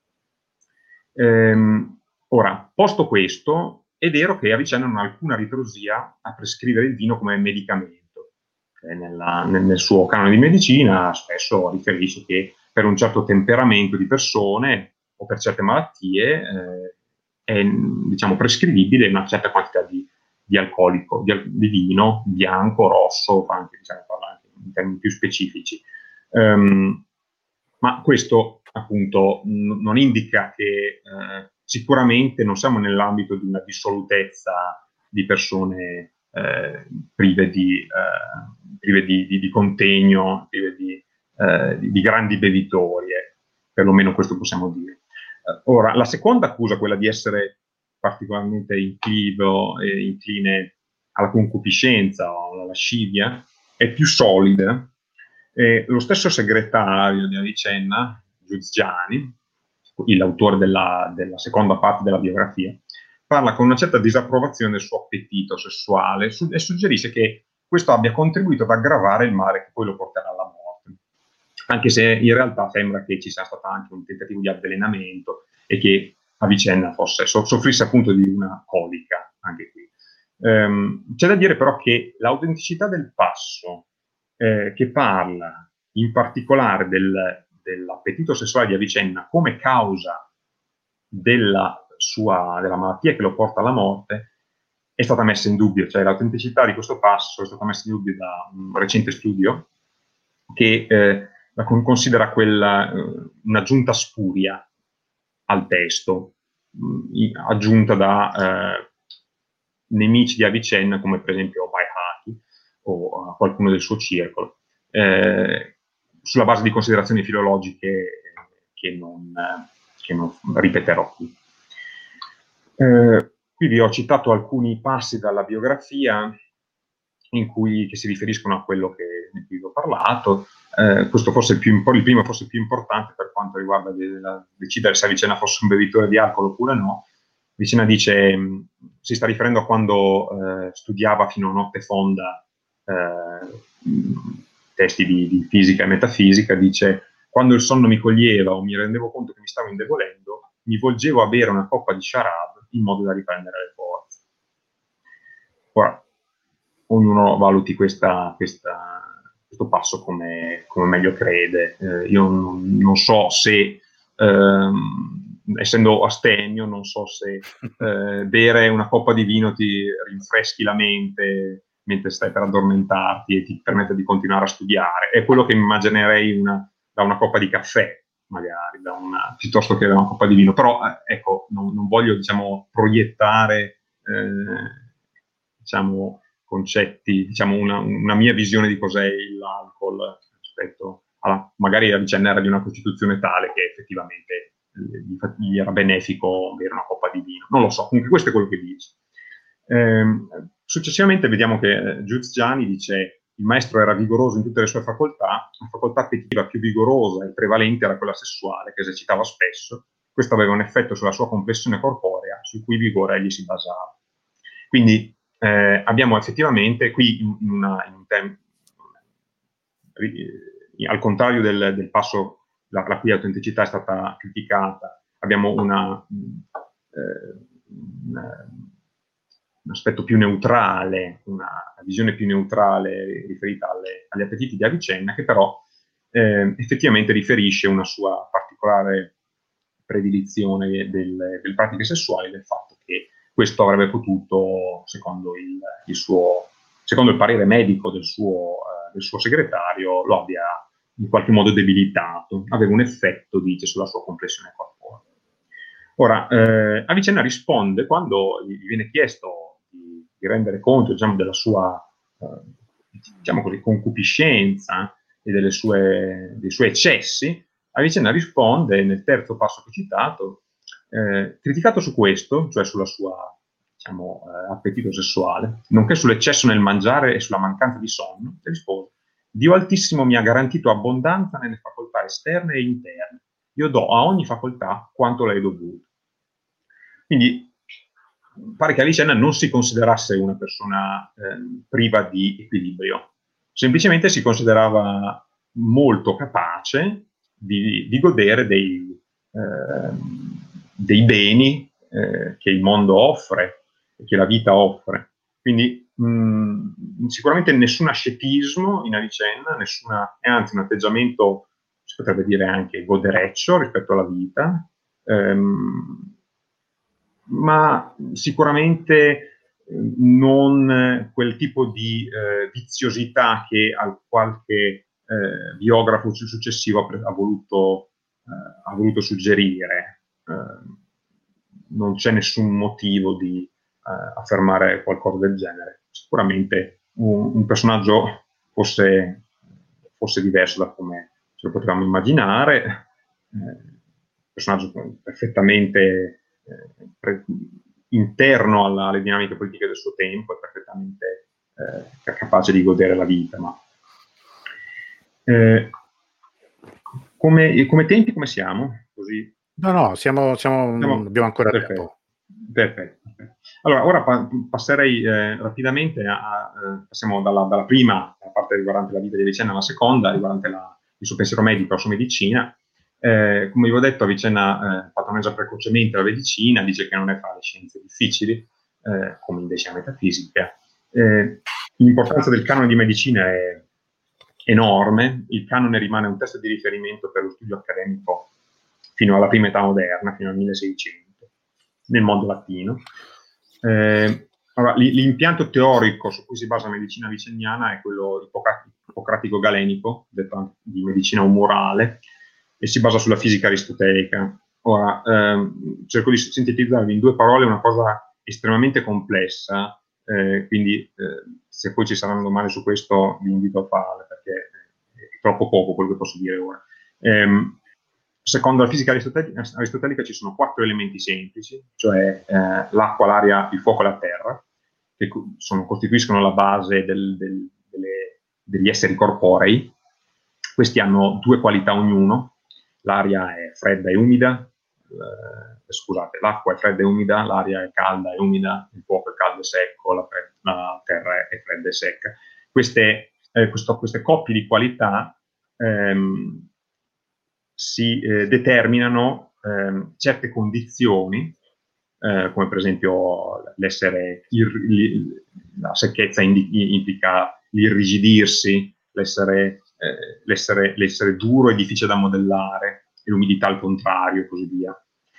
Ora, posto questo, è vero che Avicenna non ha alcuna ritrosia a prescrivere il vino come medicamento. Nel suo canone di medicina spesso riferisce che per un certo temperamento di persone o per certe malattie è prescrivibile una certa quantità di alcolico, di vino bianco, rosso, anche parlare in termini più specifici. Ma questo appunto non indica che sicuramente non siamo nell'ambito di una dissolutezza di persone prive di contegno, prive di grandi bevitori, perlomeno questo possiamo dire. Ora, la seconda accusa, quella di essere particolarmente incline alla concupiscenza o alla lascivia, è più solida. Lo stesso segretario di Avicenna, Giuziani, l'autore della seconda parte della biografia, parla con una certa disapprovazione del suo appetito sessuale e suggerisce che questo abbia contribuito ad aggravare il male che poi lo porterà alla morte, anche se in realtà sembra che ci sia stato anche un tentativo di avvelenamento e che Avicenna soffrisse appunto di una colica anche qui. C'è da dire però che l'autenticità del passo che parla in particolare dell'appetito sessuale di Avicenna come causa della malattia che lo porta alla morte è stata messa in dubbio. Cioè l'autenticità di questo passo è stata messa in dubbio da un recente studio che considera un'aggiunta spuria al testo, aggiunta da nemici di Avicenna, come per esempio Baihaqi o qualcuno del suo circolo, sulla base di considerazioni filologiche che non ripeterò qui. Qui vi ho citato alcuni passi dalla biografia che si riferiscono a quello di cui vi ho parlato. Questo forse il primo forse più importante per quanto riguarda decidere se Avicenna fosse un bevitore di alcol oppure no. Avicenna dice, si sta riferendo a quando studiava fino a notte fonda testi di fisica e metafisica, dice: quando il sonno mi coglieva o mi rendevo conto che mi stavo indebolendo, mi volgevo a bere una coppa di sciarab in modo da riprendere le forze. Ora, ognuno valuti questo passo come meglio crede. Io non so se, essendo astemio, non so se bere una coppa di vino ti rinfreschi la mente mentre stai per addormentarti e ti permette di continuare a studiare. È quello che immaginerei da una coppa di caffè, magari, piuttosto che da una coppa di vino. Però, ecco, non voglio, proiettare, concetti, una mia visione di cos'è l'alcol rispetto alla, magari Avicenna era di una costituzione tale che effettivamente gli era benefico bere una coppa di vino. Non lo so, comunque questo è quello che dice. Successivamente vediamo che Giuzzani dice: il maestro era vigoroso in tutte le sue facoltà, la facoltà affettiva più vigorosa e prevalente era quella sessuale, che esercitava spesso. Questo aveva un effetto sulla sua complessione corporea, su cui vigore egli si basava. Quindi abbiamo effettivamente qui al contrario del passo la cui autenticità è stata criticata, abbiamo un aspetto più neutrale, una visione più neutrale riferita agli appetiti di Avicenna, che però effettivamente riferisce una sua particolare predilizione delle pratiche sessuali, del fatto che questo avrebbe potuto, secondo il parere medico del suo segretario, lo abbia in qualche modo debilitato, aveva un effetto, dice, sulla sua complessione corporea. Ora, Avicenna risponde quando gli viene chiesto di rendere conto, della sua, concupiscenza e dei suoi eccessi. Avicenna risponde nel terzo passo che ho citato, criticato su questo, cioè sulla sua appetito sessuale, nonché sull'eccesso nel mangiare e sulla mancanza di sonno, rispose: Dio Altissimo mi ha garantito abbondanza nelle facoltà esterne e interne. Io do a ogni facoltà quanto le è dovuto. Quindi pare che Avicenna non si considerasse una persona priva di equilibrio, semplicemente si considerava molto capace di godere dei beni che il mondo offre, che la vita offre. Quindi sicuramente nessun ascetismo in Avicenna, anzi un atteggiamento, si potrebbe dire anche godereccio rispetto alla vita, ma sicuramente non quel tipo di viziosità che qualche biografo successivo ha voluto suggerire. Non c'è nessun motivo di affermare qualcosa del genere. Sicuramente un personaggio fosse diverso da come ce lo potevamo immaginare, un personaggio perfettamente interno alle dinamiche politiche del suo tempo e perfettamente capace di godere la vita. Ma come tempi, come siamo? Così. No, abbiamo ancora tempo. Perfetto. Allora, ora passerei rapidamente passiamo dalla prima parte riguardante la vita di Avicenna alla seconda, riguardante il suo pensiero medico, la sua medicina. Come vi ho detto, Avicenna patroneggia precocemente la medicina, dice che non è fra le scienze difficili, come invece la metafisica. L'importanza del canone di medicina è enorme. Il canone rimane un testo di riferimento per lo studio accademico fino alla prima età moderna, fino al 1600, nel mondo latino. Allora, l'impianto teorico su cui si basa la medicina aviceniana è quello ippocratico-galenico, detto di medicina umorale, e si basa sulla fisica aristotelica. Ora, cerco di sintetizzarvi in 2 parole una cosa estremamente complessa, quindi se poi ci saranno domande su questo vi invito a farle, perché è troppo poco quello che posso dire ora. Secondo la fisica aristotelica ci sono 4 elementi semplici, cioè l'acqua, l'aria, il fuoco e la terra, che costituiscono la base degli esseri corporei. Questi hanno 2 qualità ognuno: l'aria è fredda e umida, l'acqua è fredda e umida, l'aria è calda e umida, il fuoco è caldo e secco, la terra è fredda e secca. Queste coppie di qualità si determinano certe condizioni, come per esempio la secchezza implica l'irrigidirsi, l'essere duro e difficile da modellare, e l'umidità al contrario, e così via.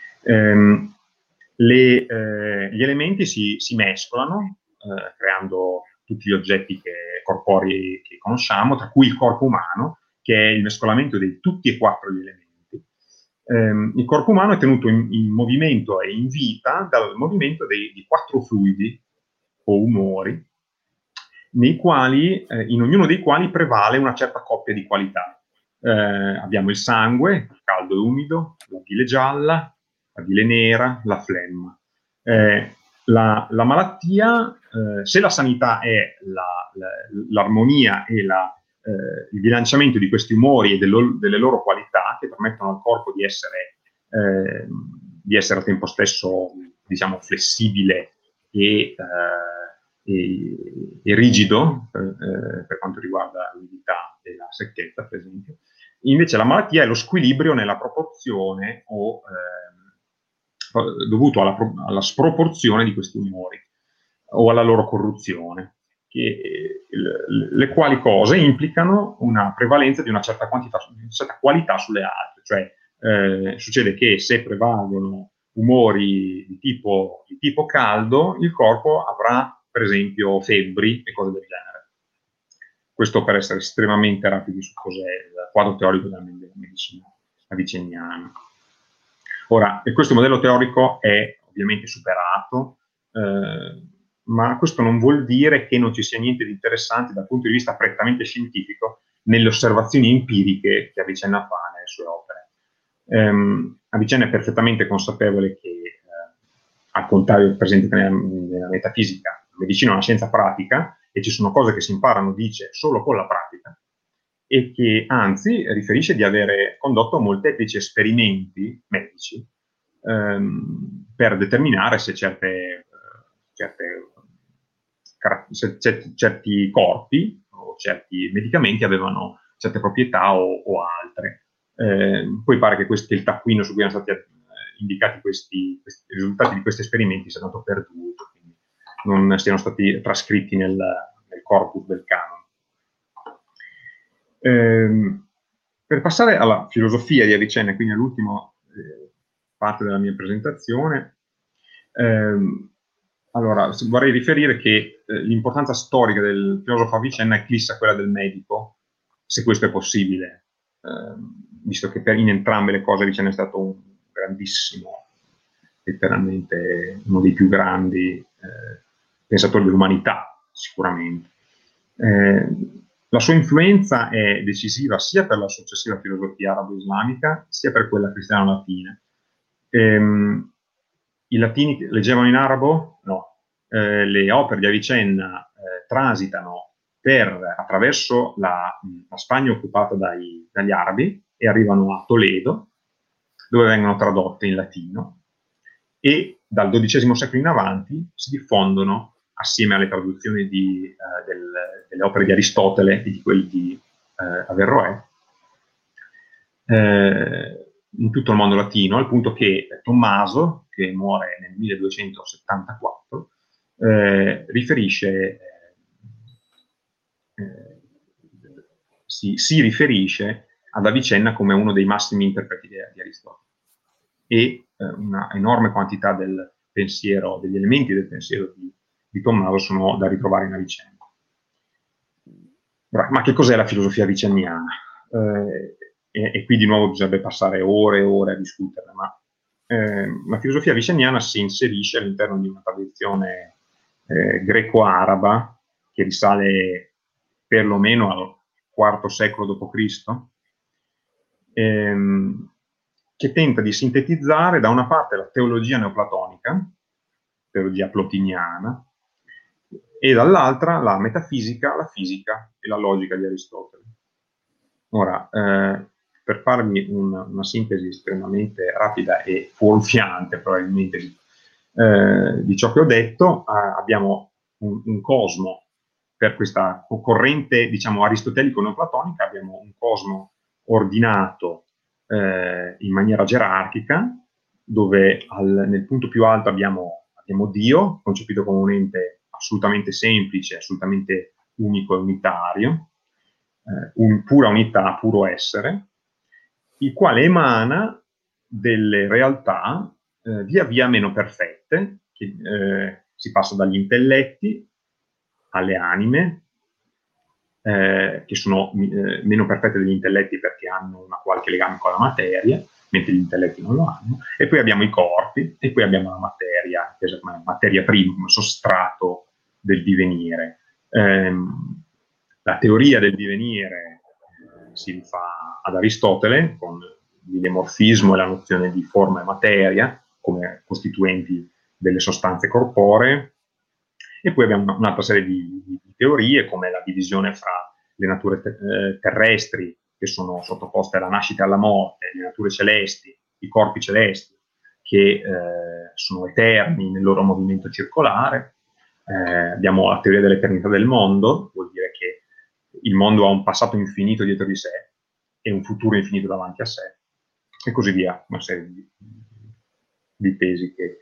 Gli elementi si mescolano, creando tutti gli oggetti corporei che conosciamo, tra cui il corpo umano, che è il mescolamento di tutti e 4 gli elementi. Il corpo umano è tenuto in movimento e in vita dal movimento di 4 fluidi o umori, in ognuno dei quali prevale una certa coppia di qualità. Abbiamo il sangue, caldo e umido, la bile gialla, la bile nera, la flemma. La malattia, se la sanità è l'armonia e il bilanciamento di questi umori e delle loro qualità, che permettono al corpo di essere al tempo stesso, diciamo, flessibile e rigido per quanto riguarda l'umidità e la secchezza, per esempio. Invece la malattia è lo squilibrio nella proporzione dovuto alla sproporzione di questi umori o alla loro corruzione, le quali cose implicano una prevalenza di una certa qualità sulle altre. Cioè succede che se prevalgono umori di tipo caldo, il corpo avrà per esempio febbri e cose del genere. Questo per essere estremamente rapidi su cos'è il quadro teorico della medicina aviceniana. Ora, questo modello teorico è ovviamente superato, ma questo non vuol dire che non ci sia niente di interessante dal punto di vista prettamente scientifico nelle osservazioni empiriche che Avicenna fa nelle sue opere. Avicenna è perfettamente consapevole che, al contrario per esempio nella metafisica, la medicina è una scienza pratica e ci sono cose che si imparano, dice, solo con la pratica, e che anzi riferisce di avere condotto molteplici esperimenti medici per determinare se certi corpi o certi medicamenti avevano certe proprietà o altre. Poi pare che il taccuino su cui erano stati indicati questi risultati di questi esperimenti sia andato perduto, quindi non siano stati trascritti nel corpus del canon. Per passare alla filosofia di Avicenna, quindi all'ultima parte della mia presentazione, allora vorrei riferire che l'importanza storica del filosofo Avicenna eclissa quella del medico, se questo è possibile, visto che in entrambe le cose Avicenna è stato un grandissimo, letteralmente uno dei più grandi pensatori dell'umanità, sicuramente. La sua influenza è decisiva sia per la successiva filosofia arabo-islamica, sia per quella cristiano-latina. I latini leggevano in arabo? No. Le opere di Avicenna transitano attraverso la Spagna occupata dagli arabi e arrivano a Toledo, dove vengono tradotte in latino, e dal XII secolo in avanti si diffondono assieme alle traduzioni delle opere di Aristotele e di quelli di Averroè, in tutto il mondo latino, al punto che Tommaso, che muore nel 1274, si riferisce ad Avicenna come uno dei massimi interpreti di Aristotele, e una enorme quantità del pensiero, degli elementi del pensiero di Tommaso sono da ritrovare in Avicenna. Ma che cos'è la filosofia avicenniana? E qui di nuovo bisognerebbe passare ore e ore a discuterne, ma la filosofia avicenniana si inserisce all'interno di una tradizione greco-araba che risale perlomeno al IV secolo d.C., che tenta di sintetizzare da una parte la teologia neoplatonica, teologia plotiniana, e dall'altra la metafisica, la fisica e la logica di Aristotele. Ora, per farvi una sintesi estremamente rapida e fuorviante probabilmente di ciò che ho detto, abbiamo un cosmo, per questa corrente, diciamo, aristotelico-neoplatonica, abbiamo un cosmo ordinato in maniera gerarchica, dove nel punto più alto abbiamo Dio, concepito come un ente assolutamente semplice, assolutamente unico e unitario, pura unità, puro essere, il quale emana delle realtà via via meno perfette, che si passa dagli intelletti alle anime, che sono meno perfette degli intelletti perché hanno una qualche legame con la materia, mentre gli intelletti non lo hanno, e poi abbiamo i corpi, e poi abbiamo la materia, che è materia prima, come sostrato del divenire. La teoria del divenire si rifà ad Aristotele, con l'ilemorfismo e la nozione di forma e materia come costituenti delle sostanze corporee, e poi abbiamo un'altra serie di teorie, come la divisione fra le nature terrestri, che sono sottoposte alla nascita e alla morte, le nature celesti, i corpi celesti, che sono eterni nel loro movimento circolare. Abbiamo la teoria dell'eternità del mondo, vuol dire che il mondo ha un passato infinito dietro di sé e un futuro infinito davanti a sé, e così via, una serie di tesi che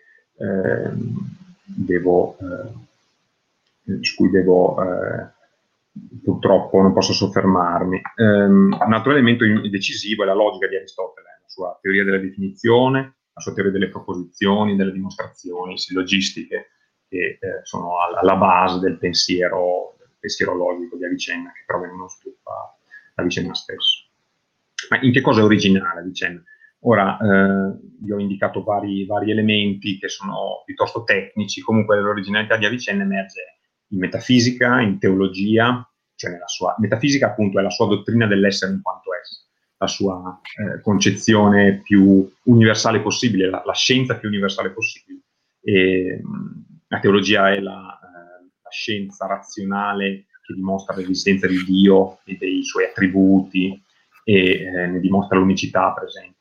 su cui purtroppo non posso soffermarmi. Un altro elemento decisivo è la logica di Aristotele, la sua teoria della definizione, la sua teoria delle proposizioni, delle dimostrazioni sillogistiche, che sono alla base del pensiero logico di Avicenna, che però non sviluppa Avicenna stesso. Ma in che cosa è originale Avicenna? Ora, vi ho indicato vari elementi che sono piuttosto tecnici. Comunque l'originalità di Avicenna emerge in metafisica, in teologia, cioè nella sua metafisica appunto è la sua dottrina dell'essere in quanto essere, la sua concezione più universale possibile, la scienza più universale possibile. E la teologia è la scienza razionale che dimostra l'esistenza di Dio e dei suoi attributi e ne dimostra l'unicità, per esempio.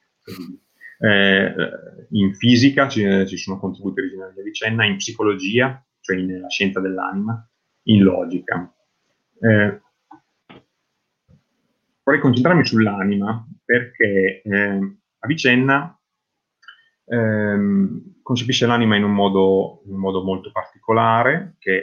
In fisica ci sono contributi originali di Avicenna, in psicologia, cioè nella scienza dell'anima, in logica. Vorrei concentrarmi sull'anima perché Avicenna concepisce l'anima in un modo molto particolare, che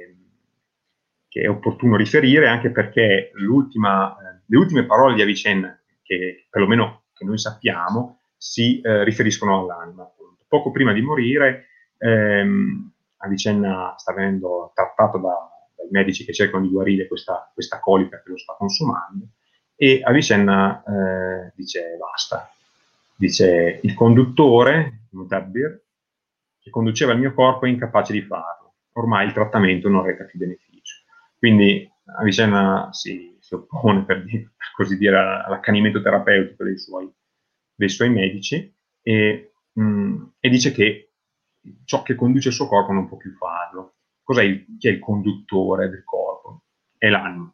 è opportuno riferire, anche perché le ultime parole di Avicenna, che perlomeno che noi sappiamo, si riferiscono all'anima. Poco prima di morire, Avicenna sta venendo trattato dai medici che cercano di guarire questa colica che lo sta consumando, e Avicenna dice basta. Dice: il conduttore, Mudabbir, che conduceva il mio corpo è incapace di farlo, ormai il trattamento non reca più beneficio. Quindi Avicenna si oppone, per così dire, all'accanimento terapeutico dei suoi medici e dice che ciò che conduce il suo corpo non può più farlo. Chi è il conduttore del corpo? È l'anima.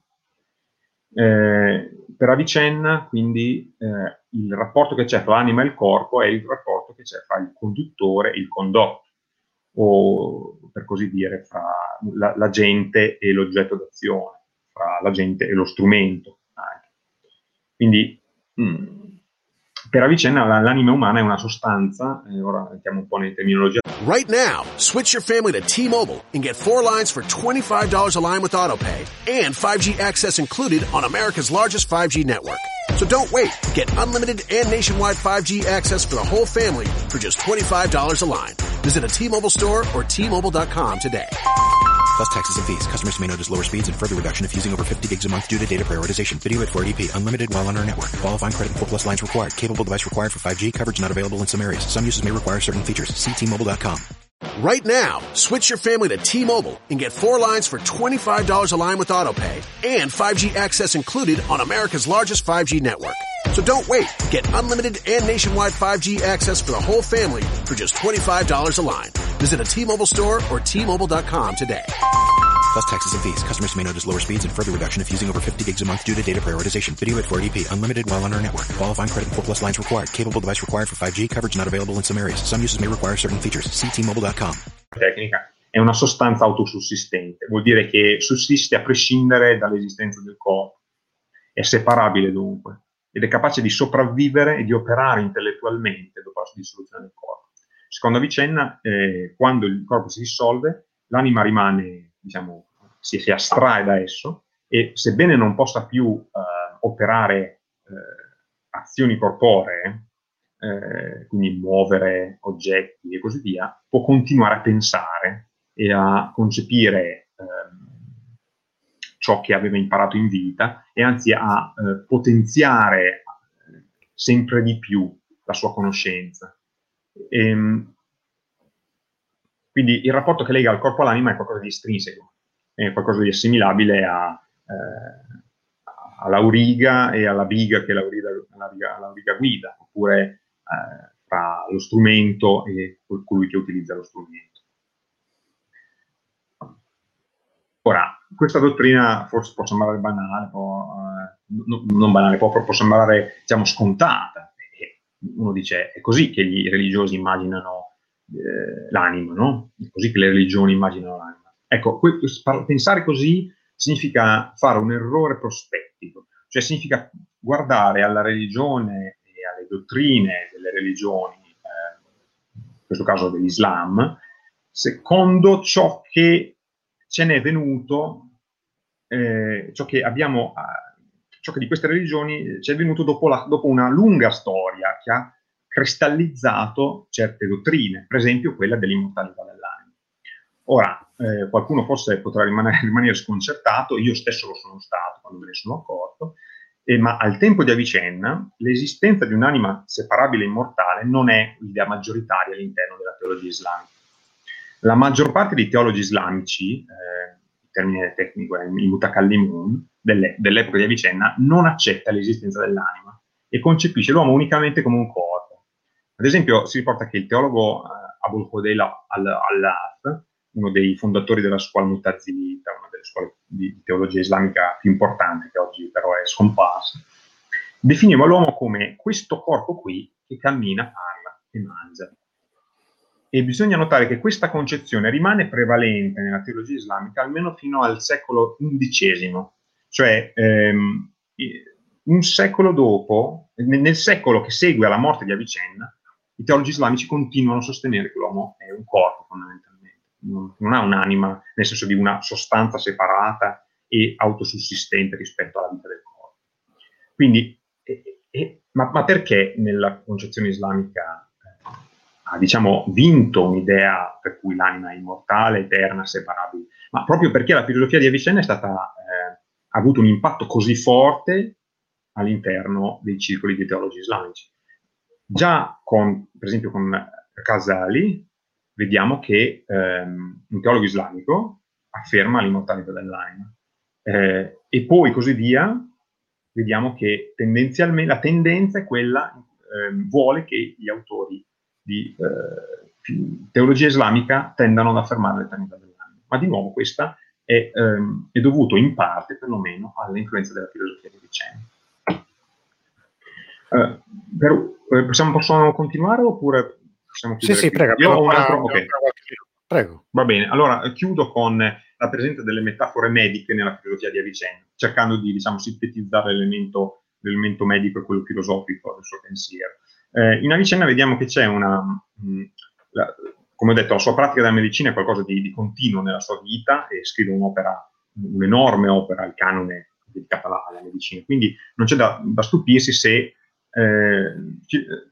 Per Avicenna, quindi, il rapporto che c'è fra l'anima e il corpo è il rapporto che c'è fra il conduttore e il condotto, o per così dire fra l'agente e l'oggetto d'azione, fra l'agente e lo strumento anche. Quindi per Avicenna l'anima umana è una sostanza, ora mettiamo un po' in terminologia. Right now, switch your family to T-Mobile and get 4 lines for $25 a line with AutoPay and 5G access included on America's largest 5G network. So don't wait. Get unlimited and nationwide 5G access for the whole family for just $25 a line. Visit a T-Mobile store or T-Mobile.com today. plus taxes and fees. Customers may notice lower speeds and further reduction if using over 50 gigs a month due to data prioritization. Video at 480p, unlimited while on our network. Qualifying credit and 4 plus lines required. Capable device required for 5G. Coverage not available in some areas. Some uses may require certain features. See T-Mobile.com. Right now, switch your family to T-Mobile and get 4 lines for $25 a line with AutoPay and 5G access included on America's largest 5G network. So don't wait. Get unlimited and nationwide 5G access for the whole family for just $25 a line. Visit a T-Mobile store or T-Mobile.com today. Plus taxes and fees. Customers may notice lower speeds and further reduction if using over 50 gigs a month due to data prioritization. Video at 480p, unlimited while on our network. Qualifying credit and 4 plus lines required. Capable device required for 5G. Coverage not available in some areas. Some uses may require certain features. See T-Mobile.com. Tecnica è una sostanza autosussistente, vuol dire che sussiste a prescindere dall'esistenza del corpo, è separabile dunque, ed è capace di sopravvivere e di operare intellettualmente dopo la dissoluzione del corpo. Secondo Avicenna, quando il corpo si dissolve, l'anima rimane, diciamo, si astrae da esso e sebbene non possa più operare azioni corporee, quindi muovere oggetti e così via, può continuare a pensare e a concepire ciò che aveva imparato in vita e anzi a potenziare sempre di più la sua conoscenza. Quindi il rapporto che lega il corpo all'anima è qualcosa di estrinseco, è qualcosa di assimilabile all'auriga e alla biga che l'auriga guida, oppure tra lo strumento e colui che utilizza lo strumento. Ora, questa dottrina forse può sembrare banale, non banale, può sembrare, diciamo, scontata. Uno dice, è così che i religiosi immaginano l'anima, no? È così che le religioni immaginano l'anima. Ecco, pensare così significa fare un errore prospettico, cioè significa guardare alla religione e alle dottrine delle religioni, in questo caso dell'Islam, secondo ciò che ce n'è venuto, ciò che di queste religioni ci è venuto dopo una lunga storia che ha cristallizzato certe dottrine, per esempio quella dell'immortalità dell'anima. Ora, qualcuno forse potrà rimanere sconcertato, io stesso lo sono stato quando me ne sono accorto, ma al tempo di Avicenna l'esistenza di un'anima separabile e immortale non è l'idea maggioritaria all'interno della teologia islamica. La maggior parte dei teologi islamici, il termine tecnico è i mutakallimun, dell'epoca di Avicenna, non accetta l'esistenza dell'anima e concepisce l'uomo unicamente come un corpo. Ad esempio, si riporta che il teologo Abul Hodela al-Lath, uno dei fondatori della scuola Mu'tazilita, una delle scuole di teologia islamica più importanti, che oggi però è scomparsa, definiva l'uomo come questo corpo qui che cammina, parla e mangia. E bisogna notare che questa concezione rimane prevalente nella teologia islamica almeno fino al secolo XI, cioè un secolo dopo, nel secolo che segue alla morte di Avicenna, i teologi islamici continuano a sostenere che l'uomo è un corpo fondamentalmente, non ha un'anima nel senso di una sostanza separata e autosussistente rispetto alla vita del corpo. Quindi, ma perché nella concezione islamica ha, diciamo, vinto un'idea per cui l'anima è immortale, eterna, separabile? Ma proprio perché la filosofia di Avicenna ha avuto un impatto così forte all'interno dei circoli di teologi islamici. Già per esempio con Ghazali, vediamo che un teologo islamico afferma l'immortalità dell'anima. E poi così via, vediamo che tendenzialmente la tendenza è quella, vuole che gli autori di teologia islamica tendano ad affermare l'eternità dell'anima. Ma di nuovo questa è dovuto in parte, perlomeno, all'influenza della filosofia di Avicenna. Possiamo continuare oppure possiamo chiudere? Sì, prego. Prego. Va bene, allora chiudo con la presenza delle metafore mediche nella filosofia di Avicenna, cercando di, diciamo, sintetizzare l'elemento medico e quello filosofico del suo pensiero. In Avicenna vediamo che c'è come ho detto, la sua pratica della medicina è qualcosa di continuo nella sua vita e scrive un'enorme opera, il canone dedicata alla medicina. Quindi non c'è da stupirsi se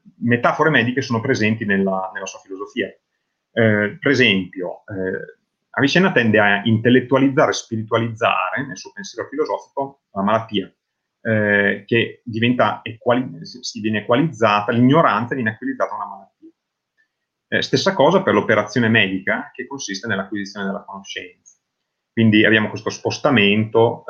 metafore mediche sono presenti nella sua filosofia. Per esempio, Avicenna tende a intellettualizzare, spiritualizzare nel suo pensiero filosofico la malattia, che si viene equalizzata, l'ignoranza viene equalizzata a una malattia. Stessa cosa per l'operazione medica, che consiste nell'acquisizione della conoscenza. Quindi abbiamo questo spostamento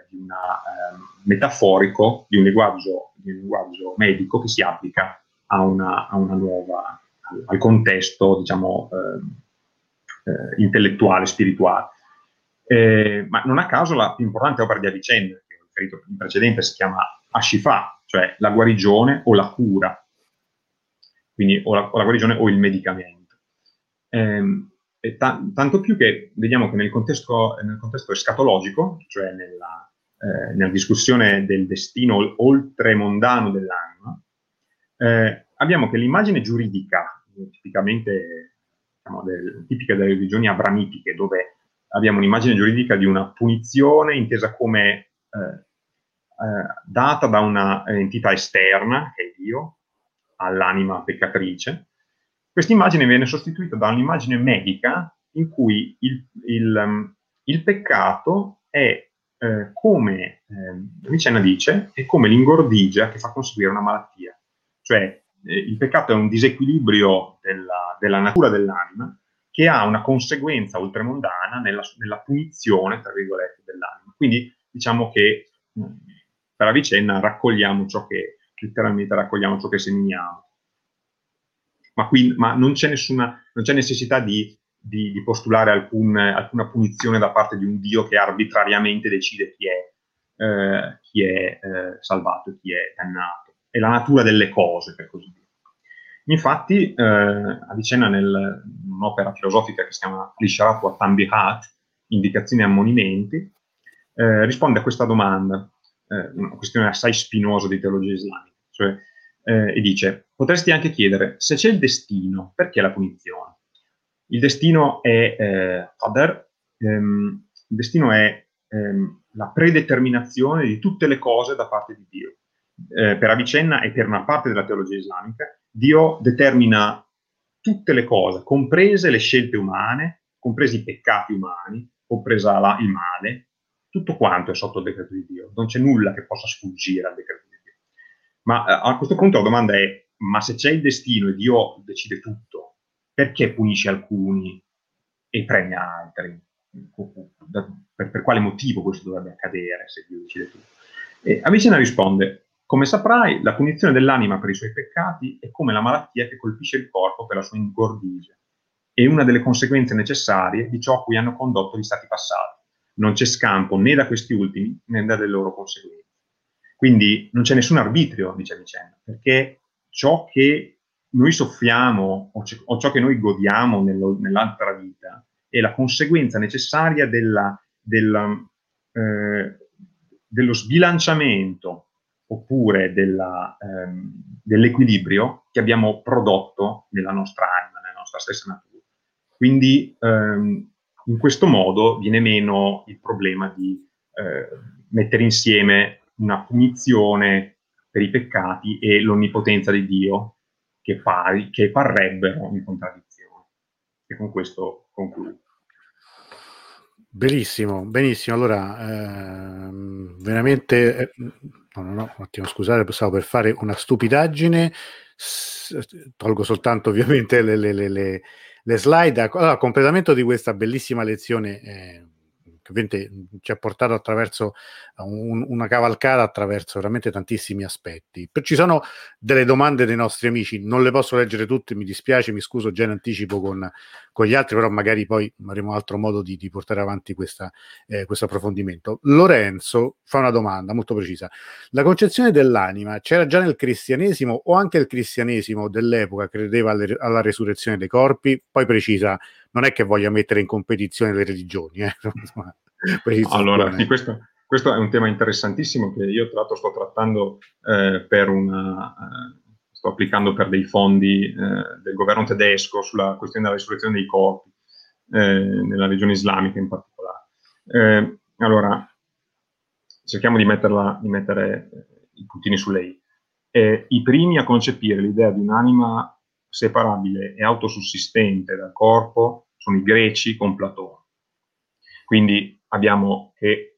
metaforico di un linguaggio medico che si applica a una nuova, al contesto, diciamo, intellettuale, spirituale. Ma non a caso la più importante opera di Avicenna, che ho riferito in precedente, si chiama Ashifa, cioè la guarigione o la cura, quindi o la guarigione o il medicamento. Tanto più che vediamo che nel contesto escatologico, cioè nella discussione del destino oltremondano dell'anima, abbiamo che l'immagine giuridica, tipicamente tipica delle religioni abramitiche, dove abbiamo un'immagine giuridica di una punizione intesa come data da una entità esterna, che è Dio, all'anima peccatrice. Questa immagine viene sostituita da un'immagine medica in cui il peccato è, come Avicenna dice, è come l'ingordigia che fa conseguire una malattia. Cioè, il peccato è un disequilibrio della natura dell'anima che ha una conseguenza oltremondana nella punizione, tra virgolette, dell'anima. Quindi diciamo che per Avicenna letteralmente raccogliamo ciò che seminiamo. Ma non c'è necessità di postulare alcuna punizione da parte di un Dio che arbitrariamente decide chi è salvato e chi è dannato. È la natura delle cose, per così dire. Infatti, Avicenna, un'opera filosofica che si chiama L'Isharat wa Tanbihat, indicazioni e ammonimenti, risponde a questa domanda, una questione assai spinosa di teologia islamica, cioè, e dice: potresti anche chiedere, se c'è il destino, perché la punizione? Il destino è qadar, il destino è la predeterminazione di tutte le cose da parte di Dio. Per Avicenna e per una parte della teologia islamica, Dio determina tutte le cose, comprese le scelte umane, compresi i peccati umani, compresa il male, tutto quanto è sotto il decreto di Dio. Non c'è nulla che possa sfuggire al decreto di Dio. Ma a questo punto la domanda è: ma se c'è il destino e Dio decide tutto, perché punisce alcuni e premia altri? Per quale motivo questo dovrebbe accadere se Dio decide tutto? E Avicenna risponde: come saprai, la punizione dell'anima per i suoi peccati è come la malattia che colpisce il corpo per la sua ingordigia. È una delle conseguenze necessarie di ciò a cui hanno condotto gli stati passati. Non c'è scampo né da questi ultimi né dalle loro conseguenze. Quindi non c'è nessun arbitrio, dice Avicenna, perché ciò che noi soffriamo o ciò che noi godiamo nell'altra vita è la conseguenza necessaria dello sbilanciamento oppure dell'equilibrio che abbiamo prodotto nella nostra anima, nella nostra stessa natura. Quindi in questo modo viene meno il problema di mettere insieme una punizione per i peccati e l'onnipotenza di Dio che parrebbero in contraddizione. E con questo concludo. Benissimo, benissimo. Allora, veramente, un attimo, scusate, stavo per fare una stupidaggine, tolgo soltanto ovviamente le slide. Allora, completamento di questa bellissima lezione che ovviamente ci ha portato attraverso una cavalcata attraverso veramente tantissimi aspetti. Ci sono delle domande dei nostri amici, non le posso leggere tutte, mi dispiace, mi scuso già in anticipo con gli altri, però magari poi avremo altro modo di portare avanti questo approfondimento. Lorenzo fa una domanda molto precisa: la concezione dell'anima c'era già nel cristianesimo o anche il cristianesimo dell'epoca credeva alla resurrezione dei corpi? Poi precisa, non è che voglia mettere in competizione le religioni. Allora, sì, questo è un tema interessantissimo che io tra l'altro sto trattando sto applicando per dei fondi del governo tedesco sulla questione della risurrezione dei corpi nella regione islamica in particolare. Allora, cerchiamo di mettere i puntini sulle i. I primi a concepire l'idea di un'anima separabile e autosussistente dal corpo sono i greci con Platone. Quindi abbiamo che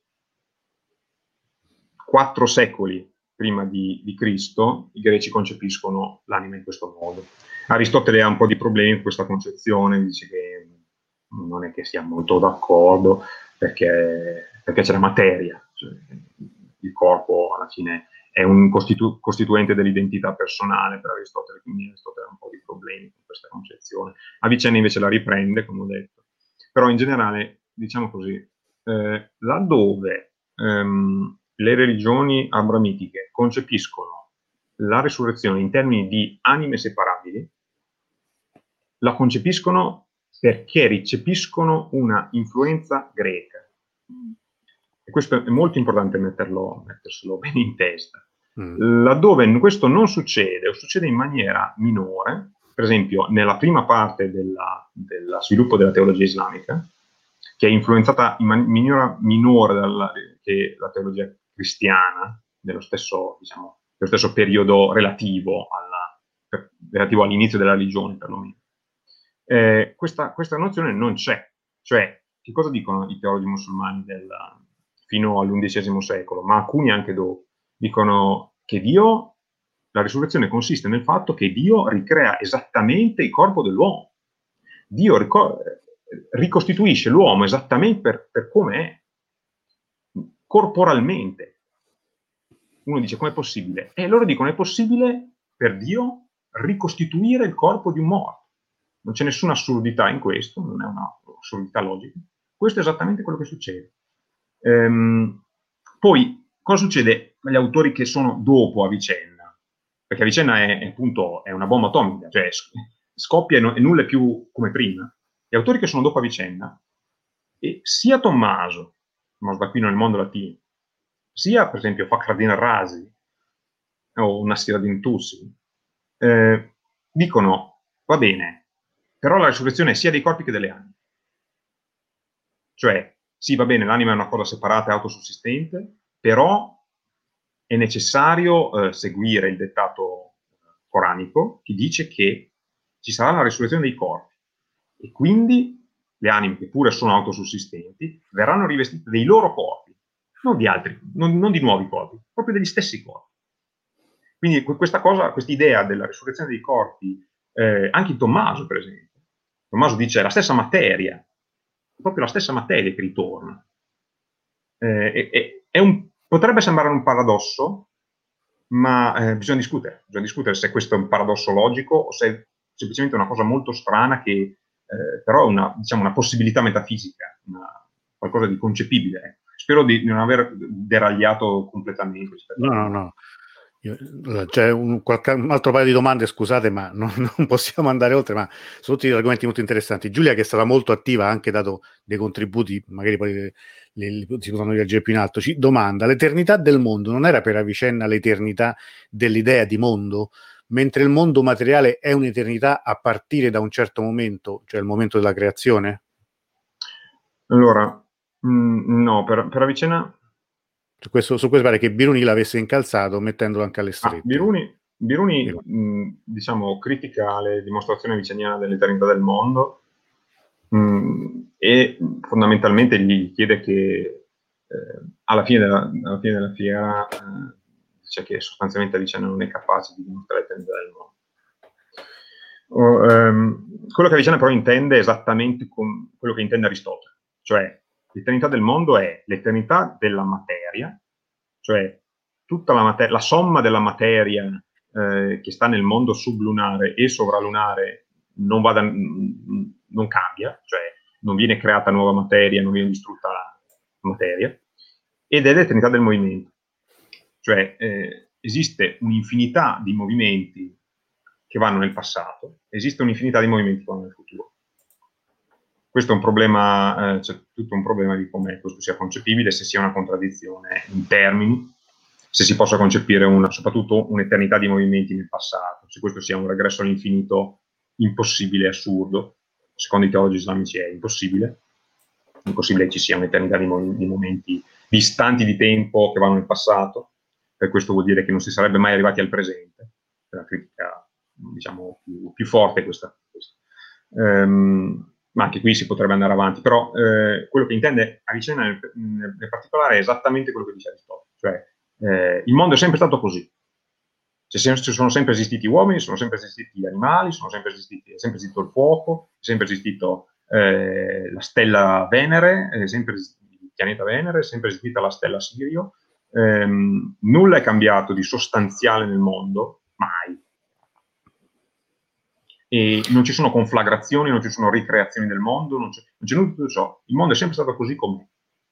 4 secoli prima di Cristo i greci concepiscono l'anima in questo modo. Aristotele ha un po' di problemi con questa concezione, dice che non è che sia molto d'accordo, perché c'è la materia, cioè, il corpo alla fine è un costituente dell'identità personale per Aristotele, quindi Aristotele ha un po' di problemi con questa concezione. Avicenna invece la riprende, come ho detto. Però in generale, diciamo così, laddove le religioni abramitiche concepiscono la resurrezione in termini di anime separabili, la concepiscono perché recepiscono una influenza greca. E questo è molto importante metterselo bene in testa. Laddove questo non succede, o succede in maniera minore, per esempio nella prima parte dello sviluppo della teologia islamica, che è influenzata in maniera minore che la teologia cristiana, dello stesso periodo relativo all'inizio della religione, perlomeno. Questa nozione non c'è. Cioè, che cosa dicono i teologi musulmani fino all'undicesimo secolo, ma alcuni anche dopo? Dicono che la risurrezione consiste nel fatto che Dio ricrea esattamente il corpo dell'uomo. Dio ricostituisce l'uomo esattamente per come è, corporalmente. Uno dice, com'è possibile? E loro dicono, è possibile per Dio ricostituire il corpo di un morto. Non c'è nessuna assurdità in questo, non è una assurdità logica. Questo è esattamente quello che succede. Poi, cosa succede agli autori che sono dopo Avicenna? Perché Avicenna è una bomba atomica, cioè scoppia e nulla è più come prima. Gli autori che sono dopo Avicenna, e sia Tommaso d'Aquino nel mondo latino, sia per esempio Fakhreddin Razi o Nasir-ad-Din Tusi, dicono, va bene, però la risurrezione è sia dei corpi che delle anime. Cioè, sì, va bene, l'anima è una cosa separata e autosussistente, però è necessario seguire il dettato coranico che dice che ci sarà la risurrezione dei corpi e quindi le anime, che pure sono autosussistenti, verranno rivestite dei loro corpi, non di altri, non di nuovi corpi, proprio degli stessi corpi. Quindi questa idea della risurrezione dei corpi, anche in Tommaso, per esempio, Tommaso dice è la stessa materia, proprio la stessa materia che ritorna. Potrebbe sembrare un paradosso, ma bisogna discutere se questo è un paradosso logico o se è semplicemente una cosa molto strana che però è una possibilità metafisica, qualcosa di concepibile. Spero di non aver deragliato completamente. No. C'è un altro paio di domande, scusate, ma non possiamo andare oltre, ma sono tutti argomenti molto interessanti. Giulia, che è stata molto attiva, ha anche dato dei contributi, magari poi si potranno leggere più in alto, ci domanda: l'eternità del mondo non era per Avicenna l'eternità dell'idea di mondo, mentre il mondo materiale è un'eternità a partire da un certo momento, cioè il momento della creazione? Allora, no, per Avicenna... Su questo pare che Biruni l'avesse incalzato mettendolo anche alle strette. Biruni diciamo, critica le dimostrazioni aviceniane dell'eternità del mondo e fondamentalmente gli chiede che alla fine della fiera dice che sostanzialmente Avicenna non è capace di dimostrare l'eternità del mondo. Quello che Avicenna però intende è esattamente quello che intende Aristotele, cioè l'eternità del mondo è l'eternità della materia, cioè tutta la somma della materia che sta nel mondo sublunare e sovralunare non cambia, cioè non viene creata nuova materia, non viene distrutta la materia, ed è l'eternità del movimento, cioè esiste un'infinità di movimenti che vanno nel passato, esiste un'infinità di movimenti che vanno nel futuro. Questo è un problema, c'è tutto un problema di come questo sia concepibile, se sia una contraddizione in termini, se si possa concepire soprattutto un'eternità di movimenti nel passato, se questo sia un regresso all'infinito impossibile, assurdo. Secondo i teologi islamici è impossibile che ci sia un'eternità di momenti, di istanti di tempo che vanno nel passato, per questo vuol dire che non si sarebbe mai arrivati al presente, è la critica diciamo più forte questa. ma anche qui si potrebbe andare avanti, però quello che intende Avicenna nel particolare è esattamente quello che dice Aristotele, cioè il mondo è sempre stato così. Ci sono sempre esistiti uomini, sono sempre esistiti gli animali, è sempre esistito il fuoco, è sempre esistito la stella Venere, è sempre esistito il pianeta Venere, è sempre esistita la stella Sirio. Nulla è cambiato di sostanziale nel mondo, mai. E non ci sono conflagrazioni, non ci sono ricreazioni del mondo, non c'è nulla di tutto ciò. Il mondo è sempre stato così com'è.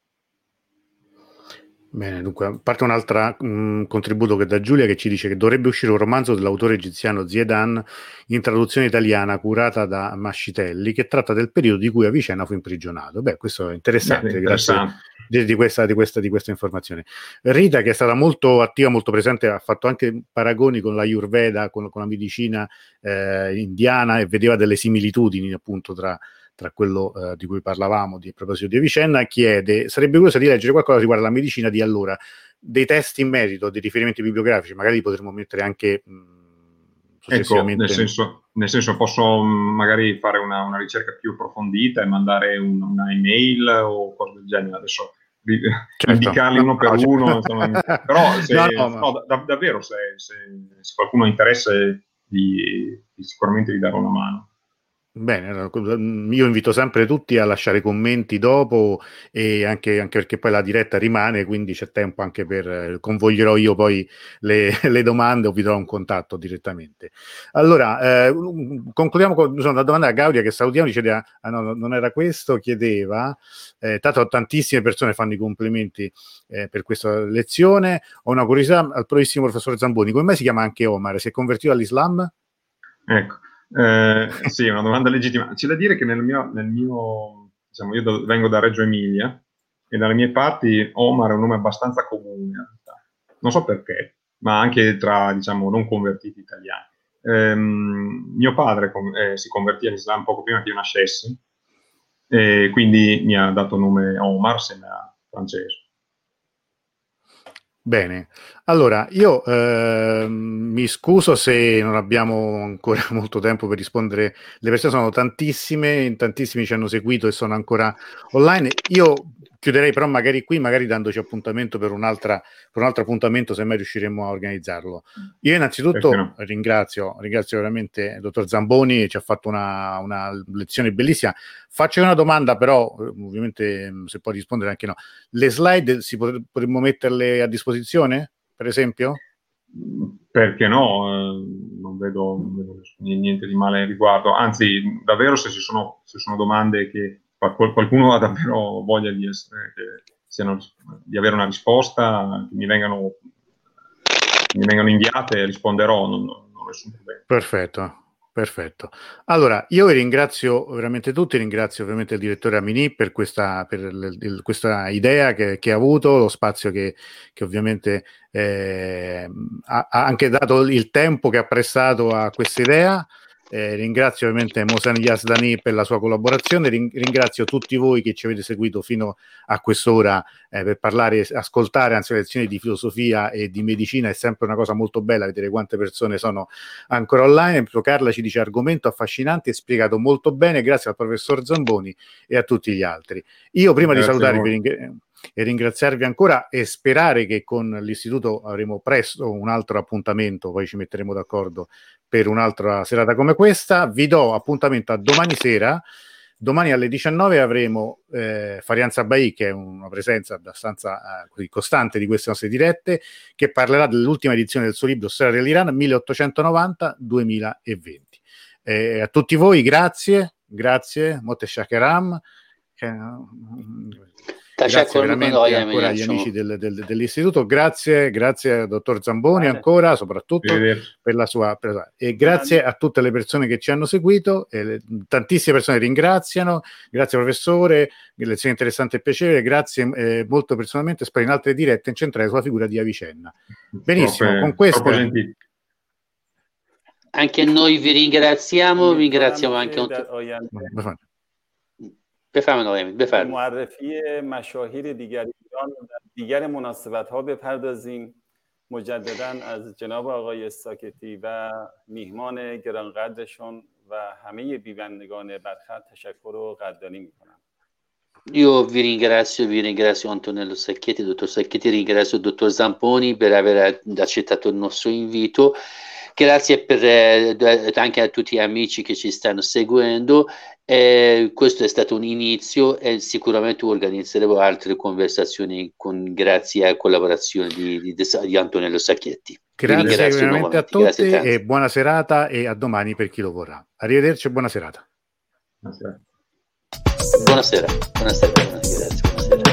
Bene, dunque, parte un altro contributo che da Giulia, che ci dice che dovrebbe uscire un romanzo dell'autore egiziano Ziedan in traduzione italiana curata da Mascitelli, che tratta del periodo di cui Avicenna fu imprigionato. Beh, questo è interessante, grazie di questa informazione. Rita, che è stata molto attiva, molto presente, ha fatto anche paragoni con la Ayurveda, con la medicina indiana, e vedeva delle similitudini appunto tra quello di cui parlavamo, a proposito di Avicenna. Chiede, sarebbe curioso di leggere qualcosa riguardo alla medicina di allora, dei testi in merito, dei riferimenti bibliografici, magari li potremmo mettere anche successivamente. Ecco, nel senso posso magari fare una ricerca più approfondita e mandare una email o cose del genere, adesso certo, indicarli uno per uno, insomma, però davvero se qualcuno ha interesse sicuramente di dare una mano. Bene, io invito sempre tutti a lasciare commenti dopo, e anche perché poi la diretta rimane, quindi c'è tempo anche convoglierò io poi le domande, o vi darò un contatto direttamente. Allora, concludiamo con una domanda a Gaudia, che salutiamo, diceva, no, non era questo, chiedeva, tanto tantissime persone fanno i complimenti per questa lezione. Ho una curiosità al bravissimo professore Zamboni, come mai si chiama anche Omar? Si è convertito all'Islam? Ecco. Sì, è una domanda legittima. C'è da dire che nel mio diciamo, io vengo da Reggio Emilia, e dalle mie parti Omar è un nome abbastanza comune in realtà. Non so perché, ma anche tra, diciamo, non convertiti italiani. Mio padre si convertì all'Islam poco prima che io nascessi, e quindi mi ha dato il nome Omar, sembra francese. Bene, allora io mi scuso se non abbiamo ancora molto tempo per rispondere. Le persone sono tantissime, tantissimi ci hanno seguito e sono ancora online. Io chiuderei però magari qui, magari dandoci appuntamento per un altro appuntamento, se mai riusciremo a organizzarlo. Io innanzitutto ringrazio veramente il dottor Zamboni, ci ha fatto una lezione bellissima. Faccio una domanda, però ovviamente se può rispondere anche no. Le slide potremmo metterle a disposizione, per esempio? Perché no? Non vedo niente di male al riguardo. Anzi, davvero, se ci sono domande che qualcuno ha davvero voglia di avere una risposta, mi vengano inviate e risponderò, non ho nessun problema. Perfetto. Allora, io vi ringrazio veramente tutti, ringrazio ovviamente il direttore Amini per questa idea che ha avuto, lo spazio che ovviamente ha anche dato il tempo che ha prestato a questa idea. Ringrazio ovviamente Mohsen Yazdani per la sua collaborazione, ringrazio tutti voi che ci avete seguito fino a quest'ora per parlare, ascoltare anzi lezioni di filosofia e di medicina. È sempre una cosa molto bella vedere quante persone sono ancora online. Carla ci dice argomento affascinante e spiegato molto bene, grazie al professor Zamboni e a tutti gli altri. Io prima di salutarvi e ringraziarvi ancora e sperare che con l'istituto avremo presto un altro appuntamento, poi ci metteremo d'accordo per un'altra serata come questa. Vi do appuntamento a domani sera. Domani alle 19 avremo Farian Sabai, che è una presenza abbastanza costante di queste nostre dirette, che parlerà dell'ultima edizione del suo libro Storia dell'Iran 1890-2020. A tutti voi grazie, Mote Shakeram. Grazie veramente ancora agli amici dell'istituto, grazie dottor Zamboni ancora, soprattutto per la sua e grazie a tutte le persone che ci hanno seguito, tantissime persone ringraziano, grazie professore, lezione interessante e piacevole, grazie molto personalmente, spero in altre dirette incentrate sulla figura di Avicenna. Benissimo, con questo anche noi vi ringraziamo anche بفرمایید معرفی مشاهیر دیگر ایران و دیگر مناسبت‌ها بپردازیم. مجدداً از جناب آقای ساکتی و میهمان گرانقدرشون و همه بی‌بندگان برخط تشکر و قدردانی میکنم. Io vi ringrazio Antonello Sacchetti, dottor Sacchetti, ringrazio il dottor Zamponi per aver accettato il nostro invito. Grazie anche a tutti gli amici che ci stanno seguendo. Questo è stato un inizio e sicuramente organizzeremo altre conversazioni grazie alla collaborazione di Antonello Sacchetti. Grazie veramente a tutti e buona serata e a domani per chi lo vorrà. Arrivederci e buona serata. Buonasera, grazie, buonasera.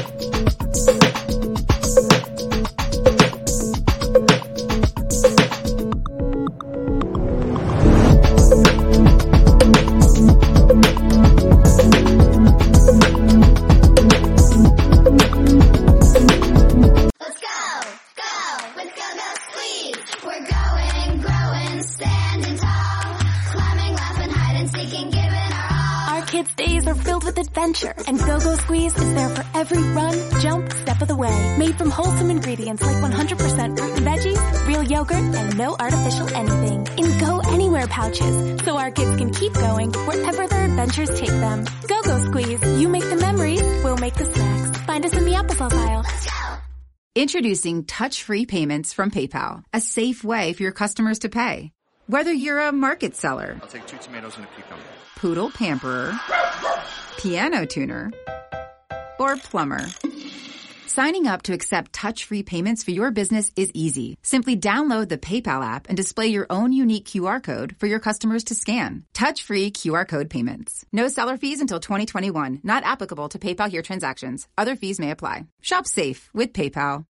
Adventure, and Go-Go Squeeze is there for every run, jump, step of the way. Made from wholesome ingredients like 100% fruit and veggies, real yogurt, and no artificial anything. In Go Anywhere pouches, so our kids can keep going wherever their adventures take them. Go-Go Squeeze, you make the memories, we'll make the snacks. Find us in the applesauce aisle. Introducing touch-free payments from PayPal, a safe way for your customers to pay. Whether you're a market seller, I'll take 2 tomatoes and a cucumber, poodle pamperer, piano tuner, or plumber. Signing up to accept touch-free payments for your business is easy. Simply download the PayPal app and display your own unique QR code for your customers to scan. Touch-free QR code payments. No seller fees until 2021. Not applicable to PayPal Here transactions. Other fees may apply. Shop safe with PayPal.